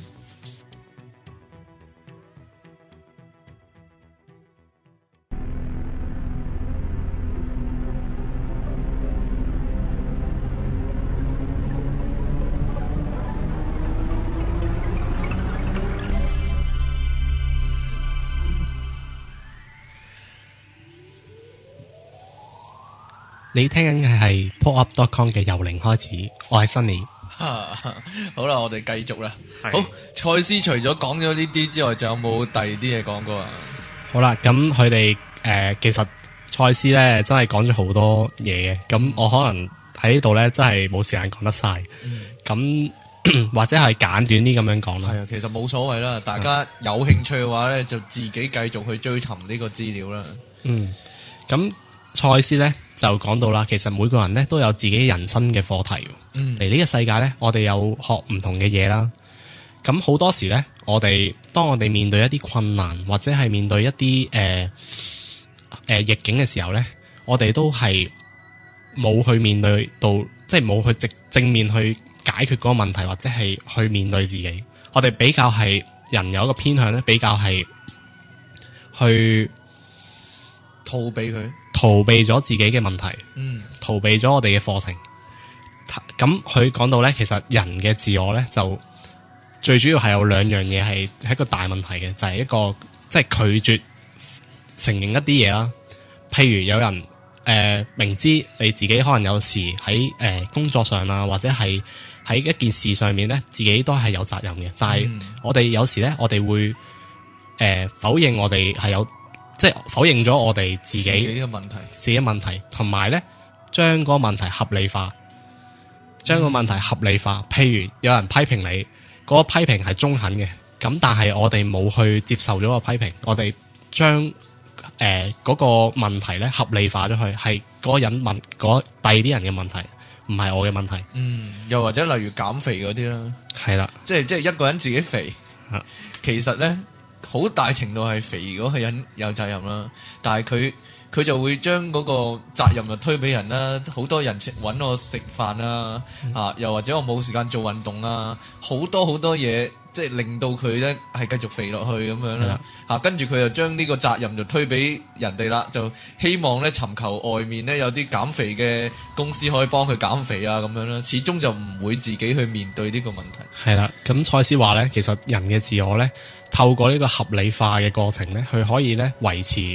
你聽緊嘅係 pop up dot com 嘅由零開始，我係 Sunny。 好啦，我哋繼續啦。好，賽斯除咗講咗呢啲之外，仲有冇第二啲嘢講過啊？ 好啦，咁佢哋誒，其實賽斯咧真係講咗好多嘢嘅，咁我可能喺呢度咧真係冇時間講得晒，咁、嗯、或者係簡短啲咁樣講啦。 係啊，其實冇所謂啦，大家有興趣嘅話咧，就自己繼續去追尋呢個資料啦。 嗯，咁賽斯咧就講到啦，其實每個人咧都有自己人生嘅課題。嗯，嚟呢個世界咧，我哋有學唔同嘅嘢啦。咁好多時咧，我哋當我哋面對一啲困難或者係面對一啲誒誒逆境嘅時候咧，我哋都係冇去面對到，即係冇去直正面去解決嗰個問題，或者係去面對自己。我哋比較係人有一個偏向咧，比較係去逃避佢， 逃避咗自己嘅問題，嗯，逃避咗我哋嘅課程。咁佢講到咧，其實人嘅自我咧就最主要係有兩樣嘢係係一個大問題嘅，就係、是、一個即係、就是、拒絕承認一啲嘢啦。譬如有人誒、呃、明知你自己可能有時喺誒、呃、工作上啊，或者係喺一件事上面咧，自己都係有責任嘅。但係我哋有時咧，我哋會誒、呃、否認我哋係有，即係否認咗我哋自己嘅問題， 自己嘅問題，同埋咧將嗰個問題合理化。將個問題合理化，譬如有人批評你，嗰、那個批評係中肯嘅，咁但係我哋冇去接受咗個批評，我哋將誒嗰個問題咧合理化咗去，係嗰個人問嗰第二啲人嘅問題，唔係我嘅問題。 嗯，又或者例如減肥嗰啲啦， 係啦， 即係即係一個人自己肥，其實咧好大程度係肥嗰個人有責任啦，但係佢。佢就會將嗰個責任就推俾人啦，好多人揾我食飯啦，嗯、啊，又或者我冇時間做運動啦，好多好多嘢，即係令到佢咧係繼續肥落去咁樣啦，嚇、啊，跟住佢就將呢個責任就推俾人哋啦，就希望咧尋求外面咧有啲減肥嘅公司可以幫佢減肥啊咁樣啦，始終就唔會自己去面對呢個問題。係啦， 咁賽斯話咧，其實人嘅自我咧，透過呢個合理化嘅過程咧，佢可以咧維持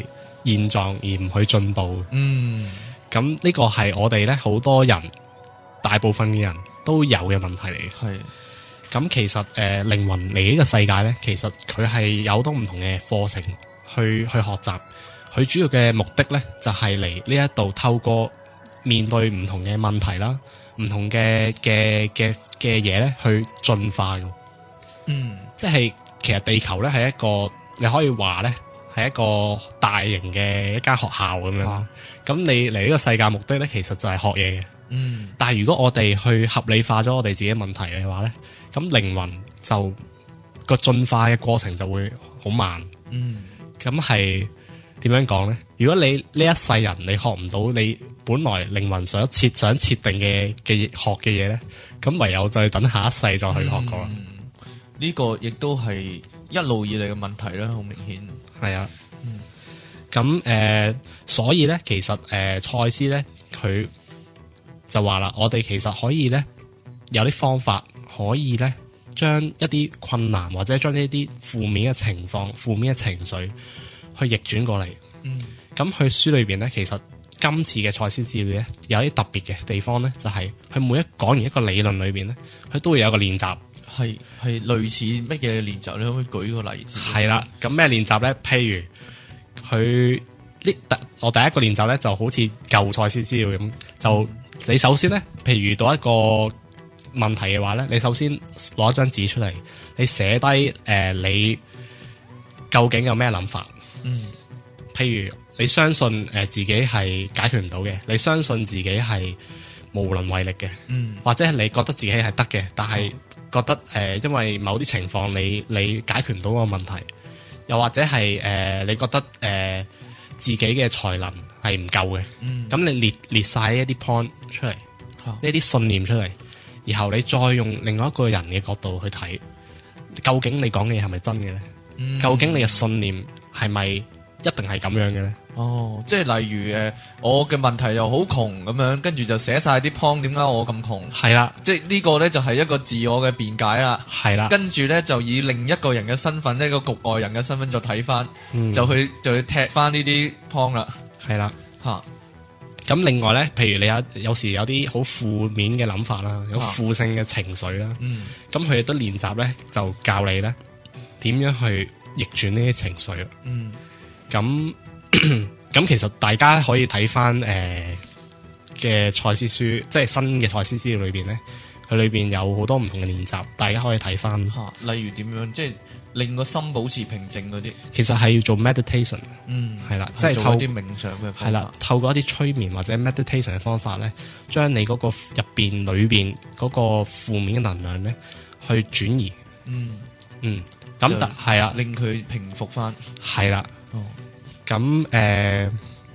現狀而唔去進步。 嗯， 咁呢個係我哋咧好多人，大部分嘅人都有嘅問題嚟嘅。 係。 咁其實誒靈魂嚟呢個世界咧，其實佢係有好多唔同嘅課程去去學習。佢主要嘅目的咧，就係嚟呢一度透過面對唔同嘅問題啦，唔同嘅嘅嘅嘅嘢咧，去進化嘅。嗯，即係其實地球咧係一個你可以話咧係一個大型嘅一間學校咁樣。咁、啊、你嚟呢個世界目的咧，其實就係學嘢嘅。嗯，但係如果我哋去合理化咗我哋自己問題嘅話咧，咁靈魂就個進化嘅過程就會好慢。嗯，咁係點樣講咧？如果你呢一世人你學唔到你本來靈魂想設想設定嘅嘅學嘅嘢咧，咁唯有就係等下一世再去學過。呢、 嗯這個亦都係一路以嚟嘅問題啦，好明顯。 係啊，咁、嗯、誒、呃，所以咧，其實誒，賽、呃、斯咧佢就話啦，我哋其實可以咧有啲方法可以咧將一啲困難或者將呢啲負面嘅情況、負面嘅情緒去逆轉過嚟。嗯，咁佢書裏邊咧，其實今次嘅賽斯資料咧有啲特別嘅地方咧，就係、是、佢每一講完一個理論裏邊咧，佢都會有一個練習。 係係類似乜嘢練習？你可唔可以舉個例子？ 係啦，咁咩練習咧？譬如佢呢，我第一個練習咧就好似舊賽斯資料咁，就、嗯、你首先咧，譬如遇到一個問題嘅話咧，你首先攞一張紙出嚟，你寫低誒、呃、你究竟有咩諗法？嗯，譬如你相信誒、呃、自己係解決唔到嘅，你相信自己係無能為力嘅，嗯，或者係你覺得自己係得嘅，但係覺得誒、呃、因為某啲情況你你解決唔到嗰個問題，又或者係誒、呃、你覺得誒、呃、自己嘅才能係唔夠嘅，嗯，咁你列列晒一啲 point 出嚟，呢、啊、啲信念出嚟，然後你再用另外一個人嘅角度去睇，究竟你講嘅嘢係咪真嘅咧？嗯、究竟你嘅信念係咪一定係咁樣嘅咧？ 哦，即係例如誒，我嘅問題又好窮咁樣，跟住就寫晒啲 point，點解我咁窮？係啦，即係呢個咧就係一個自我嘅辯解啦。係啦，跟住咧就以另一個人嘅身份，呢個局外人嘅身份就睇翻、嗯，就去就去踢翻呢啲 point 啦。係啦，吓。 咁另外咧，譬如你有有時有啲好負面嘅諗法啦，有負性嘅情緒啦，咁佢哋都練習咧，就教你咧點樣去逆轉呢啲情緒。嗯，咁。咁其實大家可以睇翻誒嘅賽斯書，即係新嘅賽斯資料裏邊咧，佢裏邊有好多唔同嘅練習，大家可以睇翻。吓， 例如點樣，即係令個心保持平靜嗰啲。 其實係要做 meditation，嗯，係啦，即係透過啲冥想嘅方法。 係啦，透過一啲催眠或者 meditation 嘅方法咧，將你嗰個入邊裏邊嗰個負面嘅能量咧，去轉移。嗯嗯，咁但係啊， 令佢平復翻。 係啦。哦。咁誒、呃，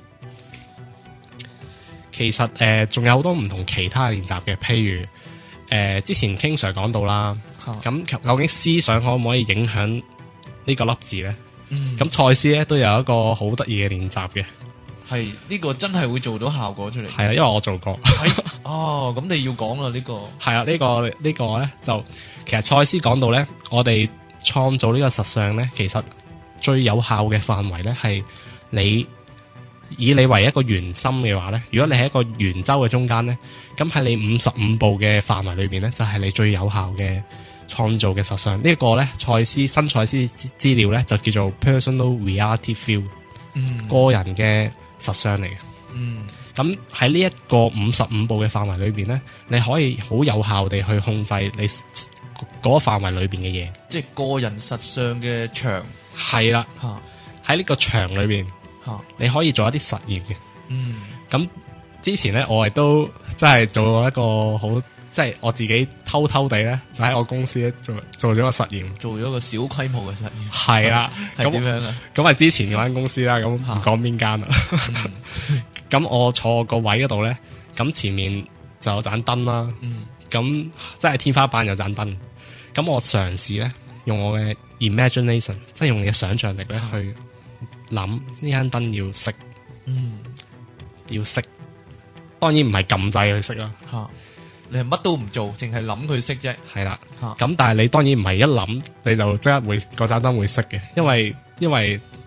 其實誒仲、呃、有好多唔同其他練習嘅，譬如誒、呃、之前 King Sir 講到啦，咁、啊、究竟思想可唔可以影響呢個粒字咧？咁賽斯咧都有一個好得意嘅練習嘅， 係呢、這個真係會做到效果出嚟。 係啦，因為我做過。 哦，咁你要講啦呢個。係啦，呢、這個呢、這個咧就其實賽斯講到咧，我哋創造呢個實相咧，其實。最有效嘅範圍咧，係你以你為一個圓心嘅話咧，如果你係一個圓周嘅中間咧，咁喺你五十五步嘅範圍裏邊咧，就係、是、你最有效嘅創造嘅實相。這個、呢一個咧，賽斯新賽斯資料咧就叫做 personal reality field，嗯，個人嘅實相嚟嘅。嗯，咁喺呢一個五十五步嘅範圍裏邊咧，你可以好有效地去控制你嗰個範圍裏邊嘅嘢， 即係個人實相嘅場。 係啦，喺呢個場裏邊，你可以做一啲實驗嘅。嗯，咁之前咧，我亦都即係做過一個好，即係我自己偷偷地咧，就喺我公司咧做做咗個實驗， 做咗個小規模嘅實驗。 係啦， 係點樣啊？ 咁係之前嗰間公司啦，咁唔講邊間啦。咁、嗯、我坐個位嗰度咧，咁前面就有盞燈啦。嗯，咁即係天花板有盞燈。咁我嘗試咧，用我嘅 imagination， 即係用你嘅想象力咧去諗呢間燈要熄，嗯，要熄。當然唔係撳掣去熄啦，吓， 你係乜都唔做，淨係諗佢熄啫。 係啦，咁、啊、但係你當然唔係一諗你就即刻會嗰盞燈會熄嘅，因為因為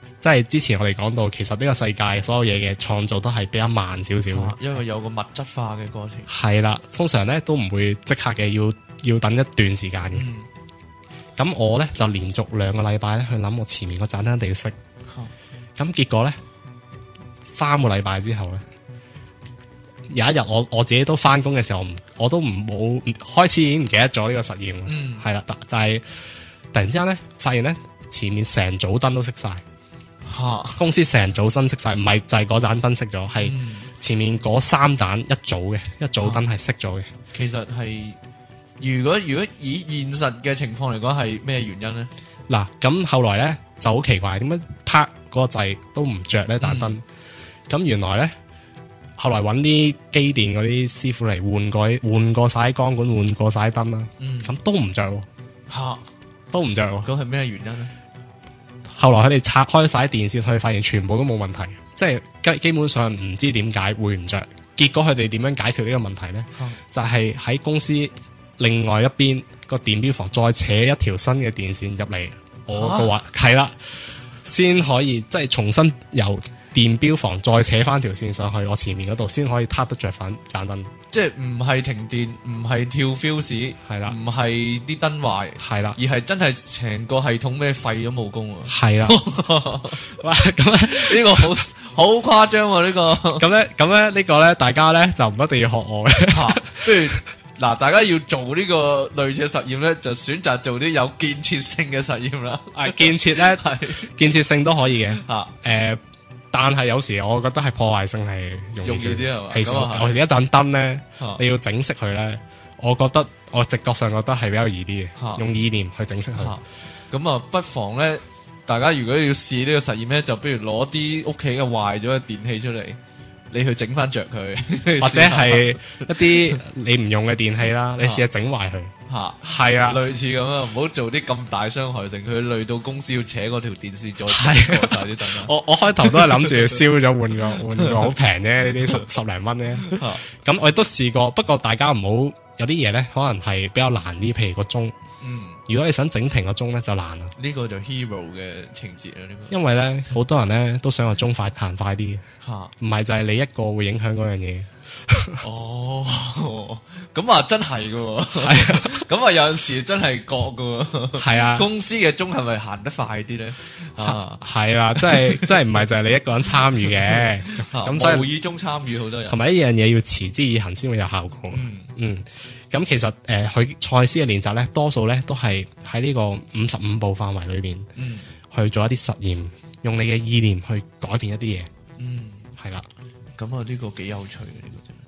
即係之前我哋講到，其實呢個世界所有嘢嘅創造都係比較慢少少、啊， 因為有個物質化嘅過程。 係啦，通常咧都唔會即刻嘅，要要等一段時間嘅。咁、嗯、我咧就連續兩個禮拜咧去諗我前面個盞燈一定要熄。咁、嗯、結果咧三個禮拜之後咧，有一日我我自己都翻工嘅時候，我都唔冇開始已經唔記得咗呢個實驗。嗯，係啦，就係、是、突然之間咧發現咧前面成組燈都熄晒。啊、公司成組燈熄晒，唔係就係嗰盞燈熄咗，係、嗯、前面嗰三盞一組嘅一組燈係熄咗嘅。其實係如果如果以現實嘅情況嚟講，係咩原因咧？ 嗱，咁後來咧就好奇怪，點解拍嗰個掣都唔着呢盞燈？咁、嗯、原來咧後來揾啲機電嗰啲師傅嚟換過換過晒光管，換過晒燈啦。咁、嗯、都唔着，吓、啊、都唔着。 咁係咩原因咧？ 後來佢哋拆開晒電線，佢哋發現全部都冇問題，即係基基本上唔知點解會唔着。結果佢哋點樣解決呢個問題咧、嗯？就係、是、喺公司另外一邊個電錶房再扯一條新嘅電線入嚟，我嘅話係啦，先可以即係重新由電錶房再扯翻條線上去我前面嗰度，先可以撻得着翻盞燈。即係唔係停電，唔係跳 fuse， 係啦，唔係啲燈壞，係啦，而係真係成個系統咩廢咗冇功啊！係啦，哇！咁咧呢個好好誇張喎，呢個咁咧咁咧呢個咧，大家咧就唔一定要學我嘅。不如嗱，大家要做呢個類似嘅實驗咧，就選擇做啲有建設性嘅實驗啦。係建設咧，係建設性都可以嘅。吓，誒。但係有時我覺得係破壞性係容易啲係嘛？其實我哋一盞燈咧，你要整熄佢咧，我覺得我直覺上覺得係比較易啲嘅，用意念去整熄佢。咁啊，不妨咧，大家如果要試呢個實驗咧，就不如攞啲屋企嘅壞咗嘅電器出嚟，你去整翻着佢，或者係一啲你唔用嘅電器啦，你試下整壞佢。吓，係啊，類似咁啊，唔好做啲咁大傷害性，佢累到公司要扯嗰條電線再過晒啲燈。我我開頭都係諗住燒咗換個換個好平啫，呢啲十十零蚊咧。咁我亦都試過，不過大家唔好有啲嘢咧，可能係比較難啲，譬如個鐘。嗯，如果你想整停個鐘咧，就難啦。呢個就 hero 嘅情節啦，呢個。因為咧，好多人咧都想個鐘快行快啲。吓，唔係就係你一個會影響嗰樣嘢。哦，咁啊真係噶，係啊，咁啊有陣時真係覺噶，係啊，公司嘅鐘係咪行得快啲咧？啊，係啦，即係即係唔係就係你一個人參與嘅，咁所以無意中參與好多人，同埋一樣嘢要持之以恒先會有效果。嗯嗯，咁其實誒，佢賽斯嘅練習咧，多數咧都係喺呢個五十五步範圍裏邊，嗯，去做一啲實驗，用你嘅意念去改變一啲嘢。嗯，係啦。咁啊，呢個幾有趣嘅呢個真係。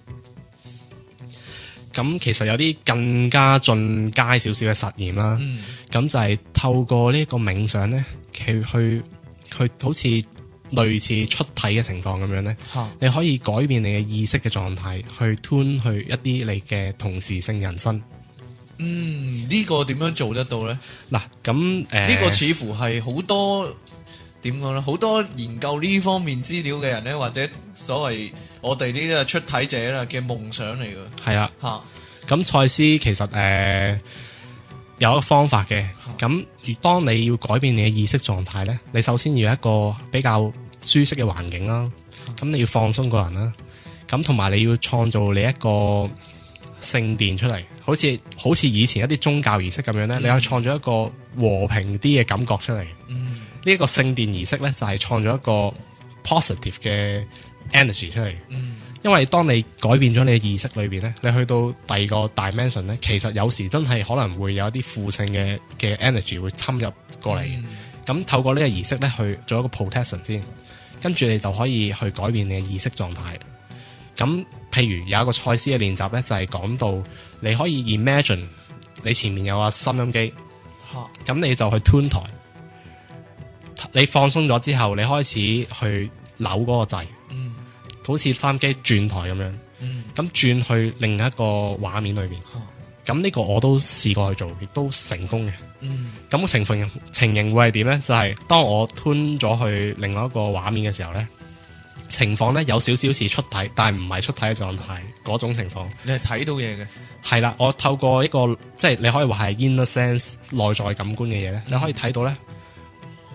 咁其實有啲更加進階少少嘅實驗啦。咁、嗯、就係透過呢個冥想咧，去去去好似類似出體嘅情況咁樣咧、啊，你可以改變你嘅意識嘅狀態，去 tune 去一啲你嘅同時性人生。嗯，呢、呢個點樣做得到咧？嗱，咁誒，呢、呃呢個似乎係好多。點講咧？好多研究呢方面資料嘅人咧，或者所謂我哋呢啲出體者啦嘅夢想嚟嘅。係啊，吓咁賽斯其實誒、呃、有一個方法嘅。咁當你要改變你嘅意識狀態咧，你首先要有一個比較舒適嘅環境啦。咁你要放鬆個人啦。咁同埋你要創造你一個聖殿出嚟，好似好似以前一啲宗教儀式咁樣咧、嗯，你可以創造一個和平啲嘅感覺出嚟。嗯。呢、這、一個聖殿儀式咧，就係創造一個 positive 嘅 energy 出嚟。嗯，因為當你改變咗你嘅意識裏邊咧，你去到第二個 dimension 咧，其實有時真係可能會有一啲負性嘅嘅 energy 會侵入過嚟。咁、嗯、透過呢個儀式咧，去做一個 protection 先，跟住你就可以去改變你嘅意識狀態。咁譬如有一個賽斯嘅練習咧，就係、是、講到你可以 imagine 你前面有個收音機，咁你就去 tune 台。你放鬆咗之後，你開始去扭嗰個掣，嗯，好似收音機轉台咁樣，嗯，咁轉去另一個畫面裏邊，咁、嗯、呢個我都試過去做，亦都成功嘅，嗯，咁情況情形會係點咧？就係、是、當我 tune 咗去另外一個畫面嘅時候咧，情況咧有少少似出體，但係唔係出體嘅狀態嗰種情況。你係睇到嘢嘅，係啦，我透過一個即係你可以話係 inner sense 內在感官嘅嘢咧，你可以睇到咧。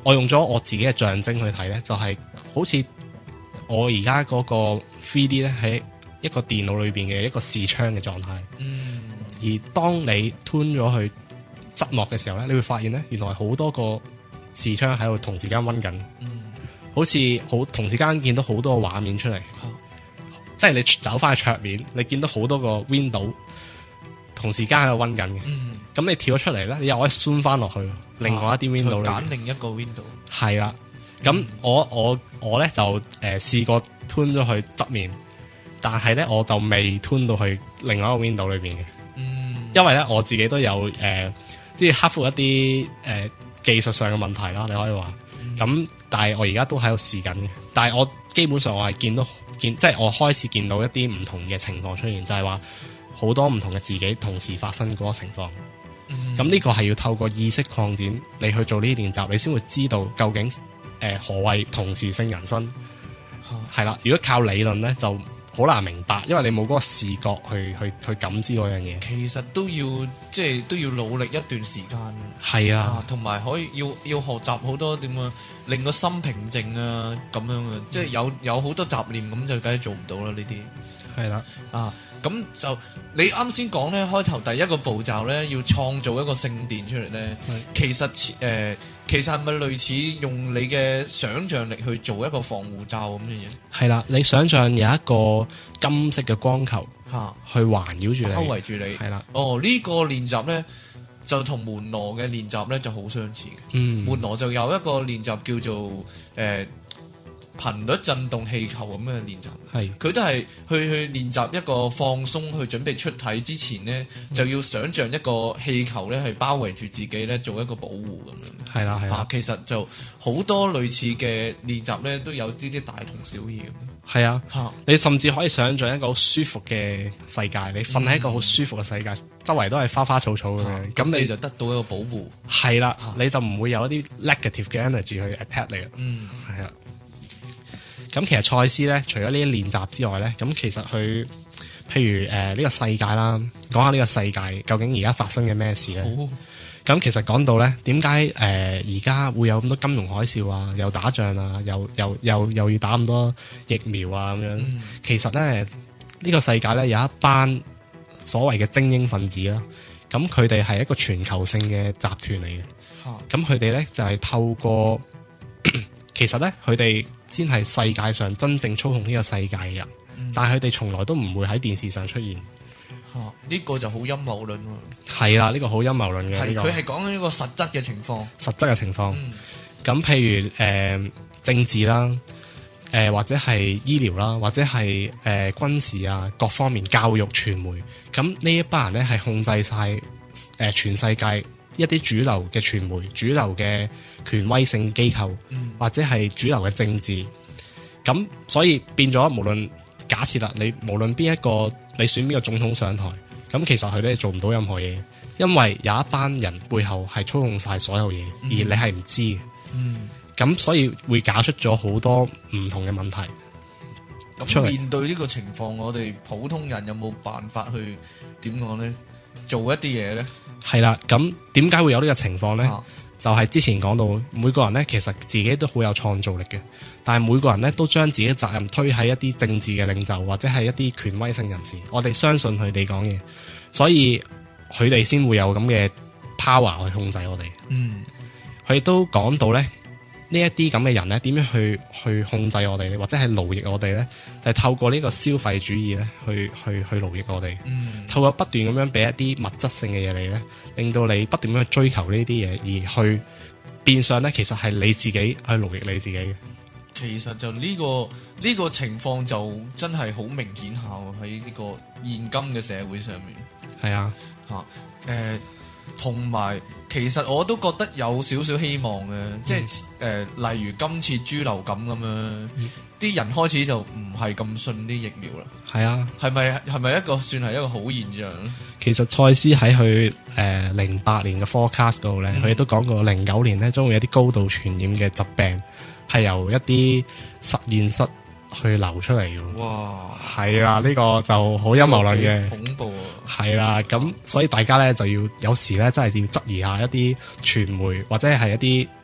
我用咗我自己嘅象徵去睇咧，就係、是、好似我而家嗰個 three D 咧喺一個電腦裏邊嘅一個視窗嘅狀態。嗯。而當你 turn 咗去側幕嘅時候咧，你會發現咧，原來好多個視窗喺度同時間溫緊。嗯。好似好同時間見到好多個畫面出嚟。嗯。即係你走翻去桌面，你見到好多個 window 同時間喺度溫緊嘅。嗯。咁你跳咗出嚟咧，你又可以 zoom 翻落去，啊、另外一啲 window 嚟。揀另一個 window。係啦。咁、嗯、我我我咧就誒試、呃、過 turn 咗去側面，但係咧我就未 turn 到去另外一個 window 裏邊嘅。嗯。因為咧我自己都有誒，即、呃、係克服一啲誒、呃、技術上嘅問題啦，你可以話。咁、嗯、但係我而家都喺度試緊嘅。但係我基本上我係見到見，即係我開始見到一啲唔同嘅情況出現，就係話好多唔同嘅自己同時發生嗰個情況。咁呢、嗯、個係要透過意識擴展，你去做呢啲練習，你先會知道究竟誒、呃、何謂同時性人生。係啦、啊，如果靠理論咧，就好難明白，因為你冇嗰個視覺去去去感知嗰樣嘢。其實都要即係都要努力一段時間。係啊，同埋可以要要學習好多點樣令個心平靜啊，咁樣嘅，即係有有好多雜念咁就梗係做唔到啦呢啲。係啦，啊，咁就你啱先講咧，開頭第一個步驟咧，要創造一個聖殿出嚟咧，其實誒、呃，其實係咪類似用你嘅想像力去做一個防護罩咁嘅嘢？係啦，你想像有一個金色嘅光球嚇，去環繞住你，包圍住你。係啦，哦，呢、這個練習咧就同門羅嘅練習咧就好相似嘅。嗯，門羅就有一個練習叫做誒。呃頻率震動氣球咁嘅練習，係佢都係去去練習一個放鬆，去準備出體之前呢，嗯、就要想像一個氣球咧係包圍住自己咧，做一個保護咁樣。係啦係啦，其實就好多類似嘅練習咧，都有呢啲大同小異咁。係啊，啊你甚至可以想像一個好舒服嘅世界，你瞓喺一個好舒服嘅世界，嗯、周圍都係花花草草咁樣，咁、啊、你就得到一個保護。係啦，啊、你就唔會有一啲 negative 嘅 energy 去 attack 你啦。嗯，係啊。咁其實賽斯咧，除咗呢啲練習之外咧，咁其實佢，譬如誒呢、呃這個世界啦，講下呢個世界究竟而家發生嘅咩事咧？咁、哦、其實講到咧，點解誒而家會有咁多金融海嘯啊，又打仗啊，又又又又要打咁多疫苗啊咁樣？嗯、其實咧呢、這個世界咧有一班所謂嘅精英分子啦，咁佢哋係一個全球性嘅集團嚟嘅。咁佢哋咧就係、是、透過，其實咧佢哋先係世界上真正操控呢個世界嘅人，嗯、但係佢哋從來都唔會喺電視上出現。嚇、啊，呢、這個就好陰謀論喎。係啦，呢、這個好陰謀論嘅。係佢係講緊一個實質嘅情況。實質嘅情況。咁、嗯、譬如誒、呃、政治啦，誒、呃、或者係醫療啦，或者係誒、呃、軍事啊，各方面教育、傳媒，咁呢一班人咧係控制晒誒、呃、全世界一啲主流嘅傳媒、主流嘅權威性機構，嗯、或者係主流嘅政治，咁所以變咗無論假設啦，你無論邊一個你選邊個總統上台，咁其實佢哋做唔到任何嘢，因為有一班人背後係操控晒所有嘢，嗯、而你係唔知嘅。嗯，咁所以會搞出咗好多唔同嘅問題。咁面對呢個情況，我哋普通人有冇辦法去點講咧？做一啲嘢咧？係啦，咁點解會有呢個情況咧？啊、就係之前講到，每個人咧其實自己都好有創造力嘅，但係每個人咧都將自己嘅責任推喺一啲政治嘅領袖或者係一啲權威性人士，我哋相信佢哋講嘢，所以佢哋先會有咁嘅 power 去控制我哋。嗯，佢亦都講到咧，呢一啲咁嘅人咧，點樣去去控制我哋，或者係奴役我哋咧？就係、是、透過呢個消費主義咧，去去去奴役我哋。嗯，透過不斷咁樣俾一啲物質性嘅嘢你咧，令到你不斷咁去追求呢啲嘢，而去變相咧，其實係你自己去奴役你自己嘅。其實就呢、這個呢、這個情況就真係好明顯下喺呢個現今嘅社會上面。係啊，吓誒、啊。同埋，其實我都覺得有少少希望嘅，嗯、即係誒、呃，例如今次豬流感咁樣，啲、嗯、人開始就唔係咁信啲疫苗啦。係啊，係咪係咪一個算係一個好現象咧？其實賽斯喺佢誒零八年嘅 forecast 度咧，佢亦都講過零九年咧將會有啲高度傳染嘅疾病係由一啲實驗室去流出嚟嘅。哇，係啊，呢、這個就好陰謀論嘅，恐怖啊！係啦，咁所以大家咧就要有時咧真係要質疑下一啲傳媒或者係一啲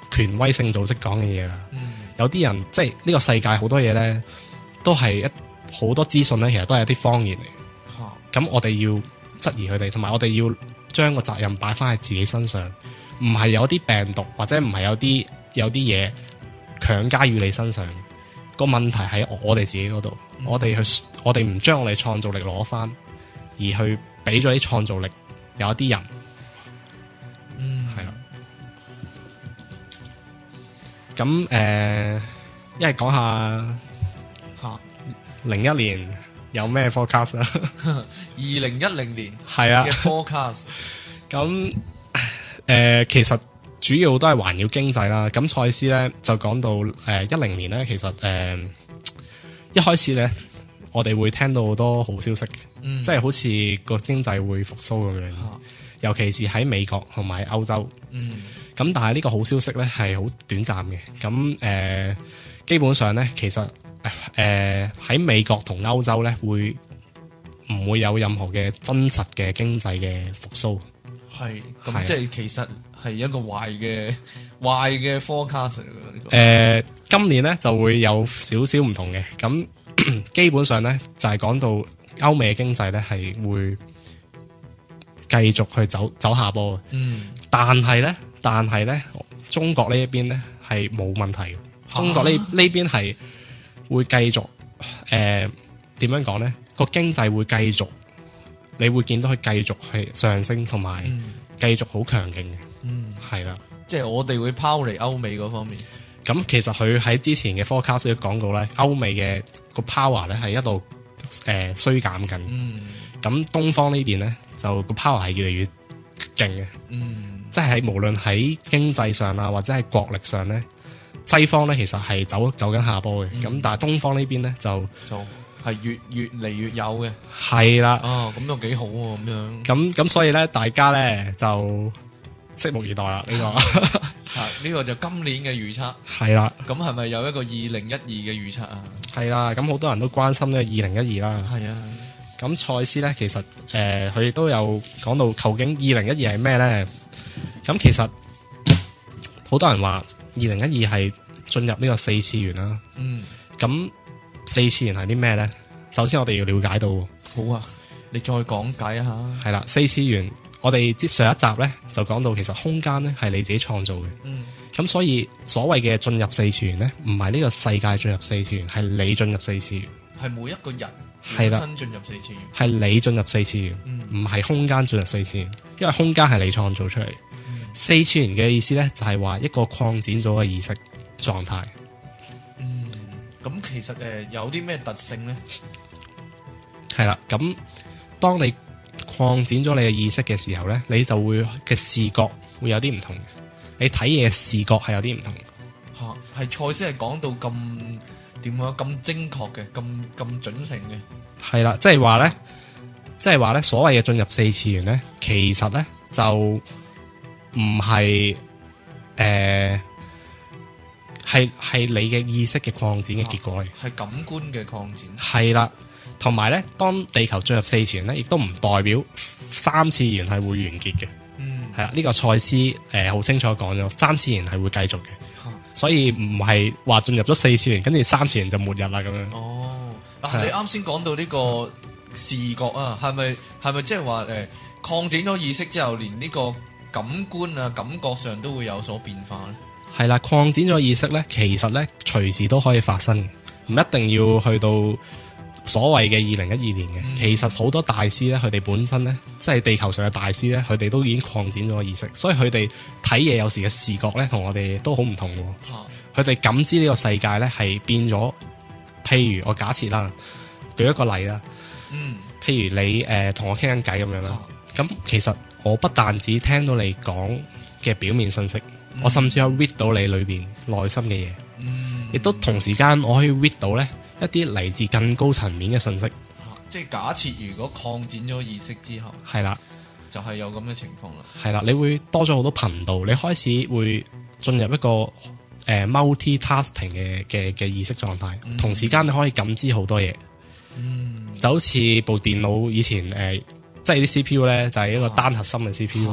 權威性組織講嘅嘢啦。 嗯、 有啲人即係呢個世界好多嘢咧，都係一好多資訊咧，其實都係一啲謊言嚟。咁、啊、我哋要質疑佢哋，同埋我哋要將個責任擺翻喺自己身上，唔係有啲病毒或者唔係有啲有啲嘢強加於你身上。個問題喺我哋自己嗰度，嗯、我哋去我哋唔將我哋創造力攞翻，而去俾咗啲創造力有一啲人。 嗯， 係啦。咁誒，一係講下吓零一年有咩 forecast 啊？ 二零一零年係啊嘅 forecast。 咁誒，其實主要都係環繞經濟啦。咁賽斯咧就講到誒一零年咧，其實誒、呃、一開始咧，我哋會聽到好多好消息， 嗯、 即係好似個經濟會復甦咁樣。 啊、 尤其是喺美國同埋歐洲。 嗯。 咁但係呢個好消息咧係好短暫嘅。咁誒、呃，基本上咧，其實誒喺、呃、美國同歐洲咧會唔會有任何嘅真實嘅經濟嘅復甦？ 係，咁即係其實係一個壞嘅壞嘅 forecast 嚟嘅呢個。 誒，今年咧就會有少少唔同嘅。咁基本上咧就係、是、講到歐美嘅經濟咧係會繼續去走走下坡嘅。 嗯， 但係咧。但係咧，中國呢一邊咧係冇問題嘅。中國呢呢邊係會繼續誒點樣講咧？個經濟會繼續，你會見到佢繼續係上升，同埋繼續好強勁嘅。 嗯，係啦， 即係我哋會拋離歐美嗰方面。 咁其實佢喺之前嘅 forecast 都講過咧，歐美嘅個 power 咧係一路誒衰減緊。 嗯， 咁東方呢邊咧就個 power 係越嚟越勁嘅。 嗯。 即係無論喺經濟上啊，或者係國力上咧，西方咧其實係走走緊下坡嘅。咁、嗯、但係東方呢邊咧就就係越越嚟越有嘅。 係啦。 哦，咁都幾好喎，咁樣。 咁咁所以咧，大家咧就拭目以待啦。呢、呢個啊，呢個就今年嘅預測。 係啦。 咁係咪有一個二零一二嘅預測啊？係啦。咁好多人都關心呢個二零一二啦。 係啊。 咁賽斯咧，其實誒佢亦都有講到，究竟二零一二係咩咧？咁其實好多人話二零一二係進入呢個四次元啦。 嗯。 咁四次元係啲咩咧？首先我哋要了解到。 好啊，你再講解一下。 係啦，四次元，我哋之上一集咧就講到，其實空間咧係你自己創造嘅。嗯。咁所以所謂嘅進入四次元咧，唔係呢個世界進入四次元，係你進入四次元。係每一個人。 係啦， 新進入四次元， 係你進入四次元，唔係、嗯、空間進入四次元，因為空間係你創造出嚟。嗯、四次元嘅意思咧，就係、是、話一個擴展咗嘅意識狀態。 嗯，咁其實誒、呃、有啲咩特性咧？ 係啦，咁當你擴展咗你嘅意識嘅時候咧，你就會嘅視覺會有啲唔同嘅，你睇嘢嘅視覺係有啲唔同。 吓、啊，係賽斯係講到咁。點樣咁精確嘅，咁咁準成嘅？係啦， 即係話咧，即係話咧，所謂嘅進入四次元咧，其實咧就唔係誒，係係你嘅意識嘅擴展嘅結果嚟， 係感官嘅擴展。 係啦，同埋咧，當地球進入四次元咧，亦都唔代表三次元係會完結嘅。嗯，係啦，呢個賽斯誒好清楚講咗，三次元係會繼續嘅。所以唔係話進入咗四次元，跟住三次元就末日啦咁樣。 哦，啊，你啱先講到呢個視覺啊，係咪係咪即係話誒擴展咗意識之後，連呢個感官啊感覺上都會有所變化咧？ 係啦，擴展咗意識咧，其實咧隨時都可以發生，唔一定要去到所謂嘅二零一二年嘅。嗯、其實好多大師咧，佢哋本身咧，即係地球上嘅大師咧，佢哋都已經擴展咗意識，所以佢哋睇嘢有時嘅視覺咧，同我哋都好唔同。佢哋、啊、感知呢個世界咧係變咗。譬如我假設啦，舉一個例啦，嗯，譬如你誒同、呃、我傾緊偈咁樣啦，咁、啊、其實我不但止聽到你講嘅表面信息，嗯、我甚至可以 read 到你裏邊內心嘅嘢，嗯，亦都同時間我可以 read 到咧一啲嚟自更高層面嘅信息。 啊、即係假設如果擴展咗意識之後， 係啦， 就係有咁嘅情況啦。 係啦，你會多咗好多頻道，你開始會進入一個誒、呃、multi-tasking 嘅嘅嘅意識狀態，嗯、同時間你可以感知好多嘢。嗯，就好似部電腦以前誒、呃，即係啲 C P U 咧，就係、是、一個單核心嘅 C P U，、啊、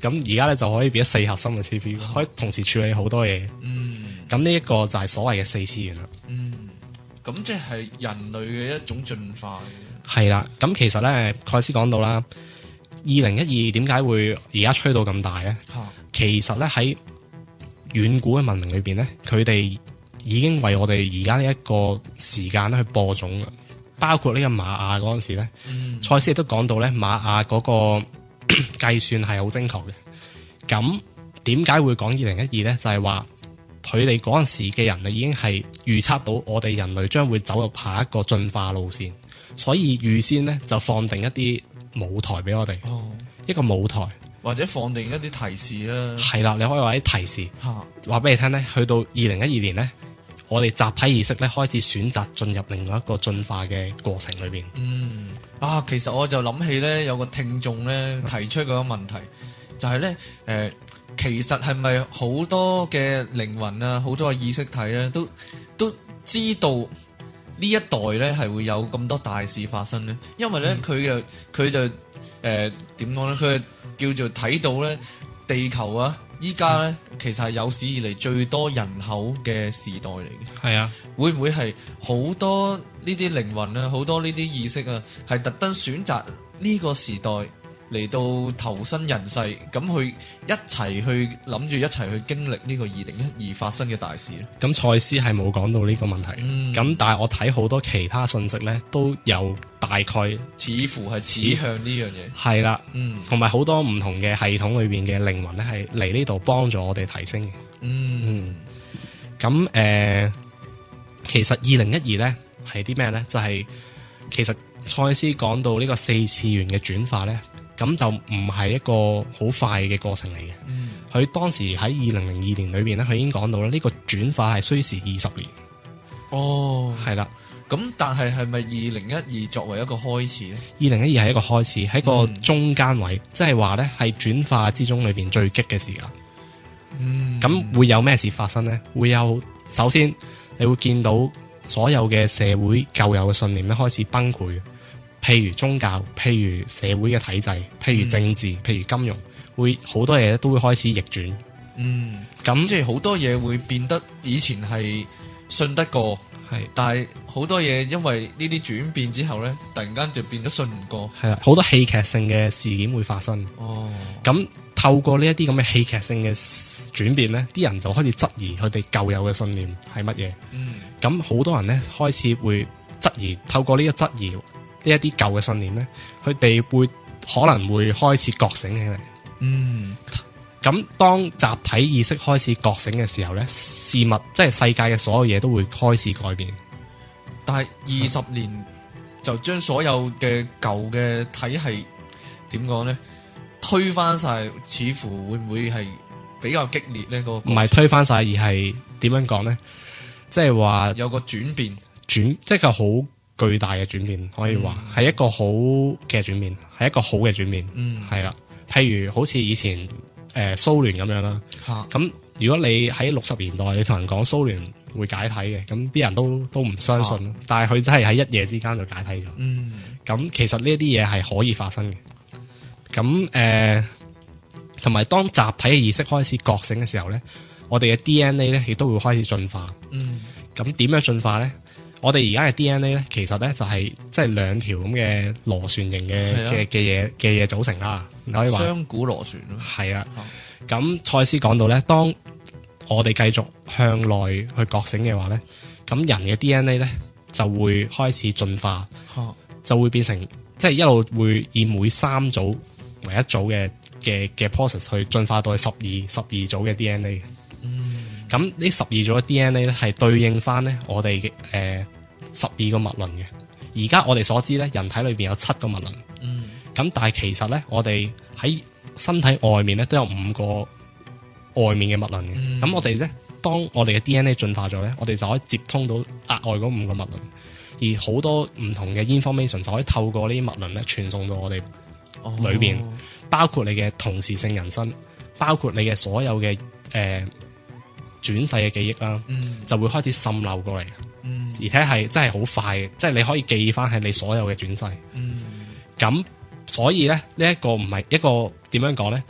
咁而家咧就可以變咗四核心嘅 C P U，、嗯、可以同時處理好多嘢。嗯，咁呢一個就係所謂嘅四次元啦。 嗯，咁即係人類嘅一種進化。 係啦，咁其實咧，蓋斯講到啦，二零一二點解會而家吹到咁大咧？啊、其實咧喺遠古嘅文明裏邊咧，佢哋已經為我哋而家呢一個時間咧去播種啦。包括呢個瑪雅嗰陣時咧，賽斯亦都講到咧，瑪雅嗰個計算係好精確嘅。咁點解會講二零一二咧？就係話佢哋嗰陣時嘅人啊，已經係預測到我哋人類將會走入下一個進化路線。所以預先咧就放定一啲舞台俾我哋，哦、一個舞台或者放定一啲提示啦。 係啦，你可以話啲提示，話俾、啊、你聽咧。去到二零一二年咧，我哋集體意識咧開始選擇進入另外一個進化嘅過程裏邊。嗯， 啊，其實我就諗起咧，有個聽眾咧提出嗰個問題，就係、是、咧，誒、呃，其實係咪好多嘅靈魂啊，好多嘅意識體咧，都都知道？呢一代咧係會有咁多大事發生咧，因為咧佢嘅佢就誒點講咧，佢、呃、叫做睇到咧地球啊，依家咧其實係有史以嚟最多人口嘅時代嚟嘅。 係啊， 會唔會係好多呢啲靈魂啊，好多呢啲意識啊，係特登選擇呢個時代嚟到投身人世，咁去一齊去諗住一齊去經歷呢個二零一二發生嘅大事咧？ 咁賽斯係冇講到呢個問題，咁、嗯、但係我睇好多其他信息咧，都有大概似乎係指向呢樣嘢。 係啦，嗯，同埋好多唔同嘅系統裏邊嘅靈魂咧，係嚟呢度幫助我哋提升嘅。嗯，咁誒、嗯呃，其實二零一二咧係啲咩咧？就係、是、其實賽斯講到呢個四次元嘅轉化咧。咁就唔係一個好快嘅過程嚟嘅。佢、嗯、當時喺二零零二年裏邊咧，佢已經講到啦，呢個轉化係需時二十年。哦，係啦。 咁但係係咪二零一二作為一個開始咧？ 二零一二係一個開始，喺個中間位，即係話咧係轉化之中裏邊最激嘅時間。嗯。咁會有咩事發生咧？會有，首先你會見到所有嘅社會舊有嘅信念咧開始崩潰。譬如宗教，譬如社會嘅體制，譬如政治，嗯、譬如金融，會好多嘢都會開始逆轉。嗯，咁那即係好多嘢會變得以前係信得過，係，但係好多嘢因為呢啲轉變之後咧，突然間就變得信唔過。 係啦，好多戲劇性嘅事件會發生。哦，咁透過呢一啲咁嘅戲劇性嘅轉變咧，啲人就開始質疑佢哋舊有嘅信念係乜嘢。嗯，咁好多人咧開始會質疑，透過呢個質疑。呢一啲舊嘅信念咧，佢哋會可能會開始覺醒起嚟。嗯，咁當集體意識開始覺醒嘅時候咧，事物即係世界嘅所有嘢都會開始改變。 但係二十年就將所有嘅舊嘅體系點講咧，推翻晒，似乎會唔會係比較激烈咧？嗰個唔係推翻晒，而係點樣講咧？即係話有個轉變，轉即係個好巨大嘅轉變，可以話係、嗯、一個好嘅轉變，係一個好嘅轉變。嗯，係啦。譬如好似以前誒蘇聯咁樣啦，咁、啊、如果你喺六十年代你同人講蘇聯會解體嘅，咁啲人都都唔相信。啊、但係佢真係喺一夜之間就解體咗。嗯，咁其實呢一啲嘢係可以發生嘅。咁誒，同、呃、埋當集體嘅意識開始覺醒嘅時候咧，我哋嘅 D N A 咧亦都會開始進化。嗯，咁點樣進化咧？我哋而家嘅 D N A 咧，其實咧就係即係兩條咁嘅螺旋形嘅嘅嘅嘢嘅嘢組成啦。你可以話雙股螺旋咯。係啊。 咁賽斯講到咧，當我哋繼續向內去覺醒嘅話咧，咁人嘅 D N A 咧就會開始進化，啊、就會變成即係、就是、一路會以每三組為一組嘅嘅嘅 process 去進化到去十二十二組嘅 D N A。咁呢十二組嘅 D N A 咧係對應翻咧我哋嘅誒十二個脈輪嘅。而家我哋所知咧，人體裏邊有七個脈輪。嗯。咁但係其實咧，我哋喺身體外面咧都有五個外面嘅脈輪嘅。咁、嗯、我哋咧，當我哋嘅 D N A 進化咗咧，我哋就可以接通到額外嗰五個脈輪，而好多唔同嘅 information 就可以透過呢啲脈輪咧傳送到我哋裏邊，哦、包括你嘅同時性人生，包括你嘅所有嘅誒。呃轉世嘅記憶啦，嗯、就會開始滲漏過嚟，嗯、而且係真係好快嘅，即係你可以記翻係你所有嘅轉世。咁、嗯、所以咧，呢、這個、一個唔係一個點樣講咧？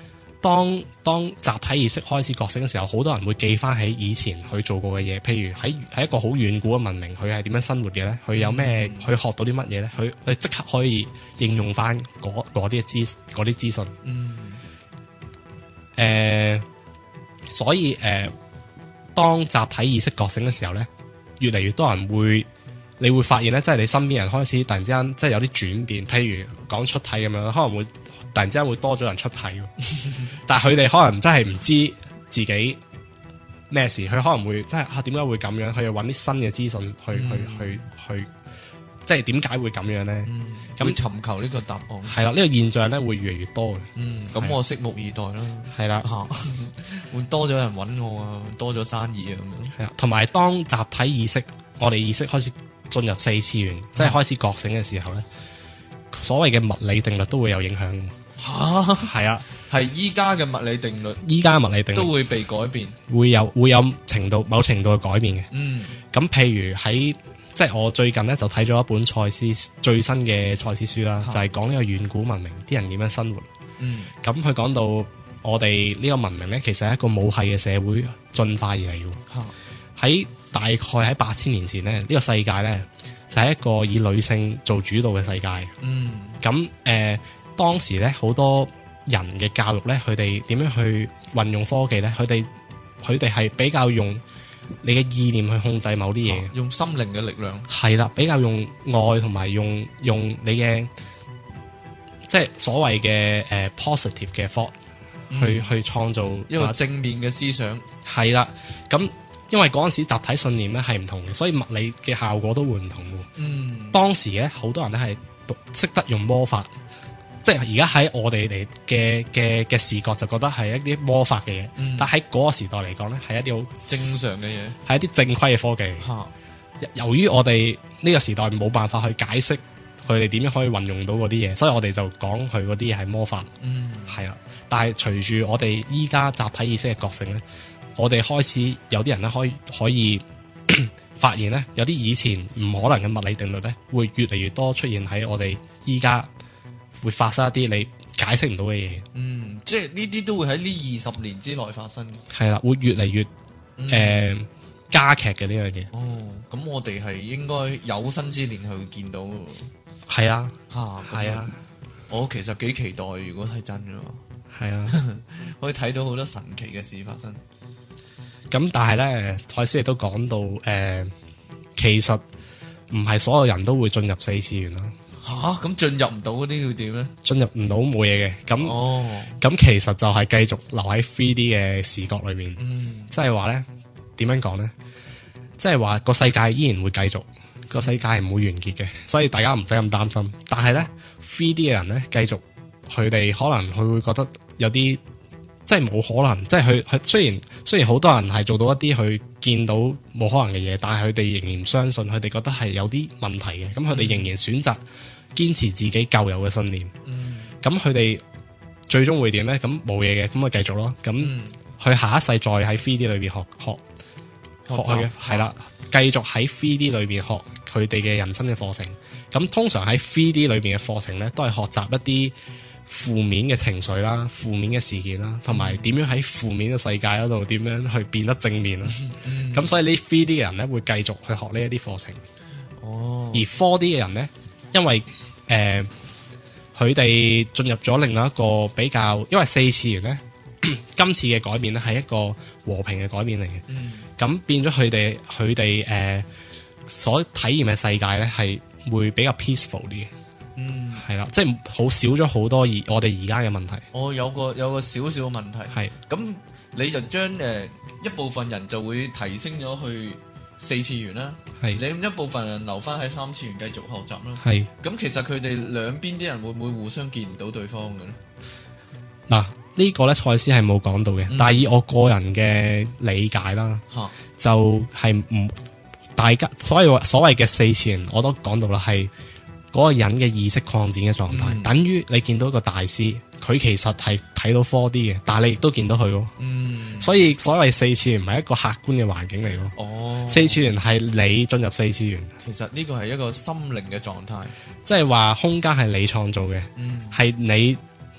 當當集體意識開始覺醒嘅時候，好多人會記翻起以前佢做過嘅嘢，譬如喺喺一個好遠古嘅文明，佢係點樣生活嘅咧？佢有咩？佢、嗯、學到啲乜嘢咧？佢佢即刻可以應用翻嗰啲資嗰啲資訊。嗯。誒、呃，所以誒、呃，當集體意識覺醒嘅時候咧，越嚟越多人會，你會發現咧，即係你身邊人開始突然之間，即係有啲轉變。譬如講出體咁樣，可能會。突然之間會多咗人出體，但係佢哋可能真係唔知自己咩事，佢可能會真係啊點解會咁樣？佢要揾啲新嘅資訊去、嗯、去去去，即係點解會咁樣咧？咁、嗯、尋求呢個答案係啦，呢、呢個現象咧會越嚟越多嘅。嗯，咁我拭目以待啦。係啦，會多咗人揾我啊，多咗生意啊咁樣。係啊，同埋當集體意識，我哋意識開始進入四次元，即係開始覺醒嘅時候咧，所謂嘅物理定律都會有影響。吓，係啊，係依家嘅物理定律，依家嘅物理定律都會被改變，會有會有程度某程度嘅改變嘅。嗯，咁譬如喺即係我最近咧就睇咗一本賽斯最新嘅賽斯書啦，就係講呢個遠古文明啲人點樣生活。嗯，咁佢講到我哋呢個文明咧，其實係一個母系嘅社會進化而嚟嘅。喺大概喺八千年前咧，呢個世界咧就係一個以女性做主導嘅世界。嗯，咁誒。呃當時咧，好多人嘅教育咧，佢哋點樣去運用科技咧？佢哋佢哋係比較用你嘅意念去控制某啲嘢，用心靈嘅力量。係啦，比較用愛同埋用用你嘅即係所謂嘅誒、uh, positive 嘅 thought 去、嗯、去創造一個正面嘅思想。係啦，咁因為嗰陣時集體信念咧係唔同嘅，所以物理嘅效果都會唔同嘅。嗯，當時咧好多人咧係讀識得用魔法。即係而家喺我哋嚟嘅嘅嘅視覺就覺得係一啲魔法嘅嘢，嗯、但喺嗰個時代嚟講咧係一啲好正常嘅嘢，係一啲正規嘅科技。啊、由於我哋呢個時代冇辦法去解釋佢哋點樣可以運用到嗰啲嘢，所以我哋就講佢嗰啲嘢係魔法。嗯，係啦。但係隨住我哋依家集體意識嘅覺醒咧，我哋開始有啲人咧可以可以發現咧，有啲以前唔可能嘅物理定律咧，會越嚟越多出現喺我哋依家。會發生一啲你解釋唔到嘅嘢，嗯，即係呢啲都會喺呢二十年之內發生嘅，係啦，會越嚟越誒、嗯呃、加劇嘅呢樣嘢。哦，咁我哋係應該有生之年去見到，係啊，吓，係啊，我其實幾期待，如果係真嘅話，係啊，可以睇到好多神奇嘅事發生。咁但係咧，賽斯亦都講到，誒、呃，其實唔係所有人都會進入四次元啦。吓，咁進入唔到嗰啲要點咧？進入唔到冇嘢嘅，咁咁、哦、其實就係繼續留喺 three D 嘅視覺裏面，嗯，即係話咧，點樣講咧？即係話個世界依然會繼續，個世界係唔會完結嘅，所以大家唔使咁擔心。但係咧 three D 嘅人咧，繼續佢哋可能佢會覺得有啲即係冇可能，即係佢佢雖然雖然好多人係做到一啲佢見到冇可能嘅嘢，但係佢哋仍然相信，佢哋覺得係有啲問題嘅，咁佢哋仍然選擇堅持自己舊有嘅信念，咁佢哋最終會點咧？咁冇嘢嘅，咁咪繼續咯。咁佢、嗯、下一世再喺 three D 裏邊學學學嘅係啦，繼續喺 three D 裏邊學佢哋嘅人生嘅課程。咁通常喺 three D 裏邊嘅課程咧，都係學習一啲負面嘅情緒啦、負面嘅事件啦，同埋點樣喺負面嘅世界嗰度點樣去變得正面啦。咁、嗯、所以呢 three D 嘅人咧會繼續去學呢一啲課程。哦，而 four D 嘅人咧。因為誒，佢哋進入咗另外一個比較，因為四次元咧，今次嘅改變咧係一個和平嘅改變嚟嘅。咁、嗯、變咗佢哋佢哋誒所體驗嘅世界咧係會比較 peaceful 啲嘅。嗯，係啦，即係好少咗好多而我哋而家嘅問題。我有個有個少少嘅問題係，咁你就將誒、呃、一部分人就會提升咗去四次元啦，係你一部分人留翻喺三次元繼續學習啦，係咁其實佢哋兩邊啲人會唔會互相見唔到對方嘅咧？嗱、啊，這個、呢個咧賽斯係冇講到嘅，嗯、但係以我個人嘅理解啦，嗯、就係唔大家所謂所謂嘅四次元，我都講到啦，係嗰個人嘅意識擴展嘅狀態，嗯、等於你見到一個大師，佢其實係睇到 four D 嘅，但係你亦都見到佢咯。嗯，所以所謂四次元唔係一個客觀嘅環境嚟咯。哦，四次元係你進入四次元。其實呢個係一個心靈嘅狀態，即係話空間係你創造嘅，係、嗯、你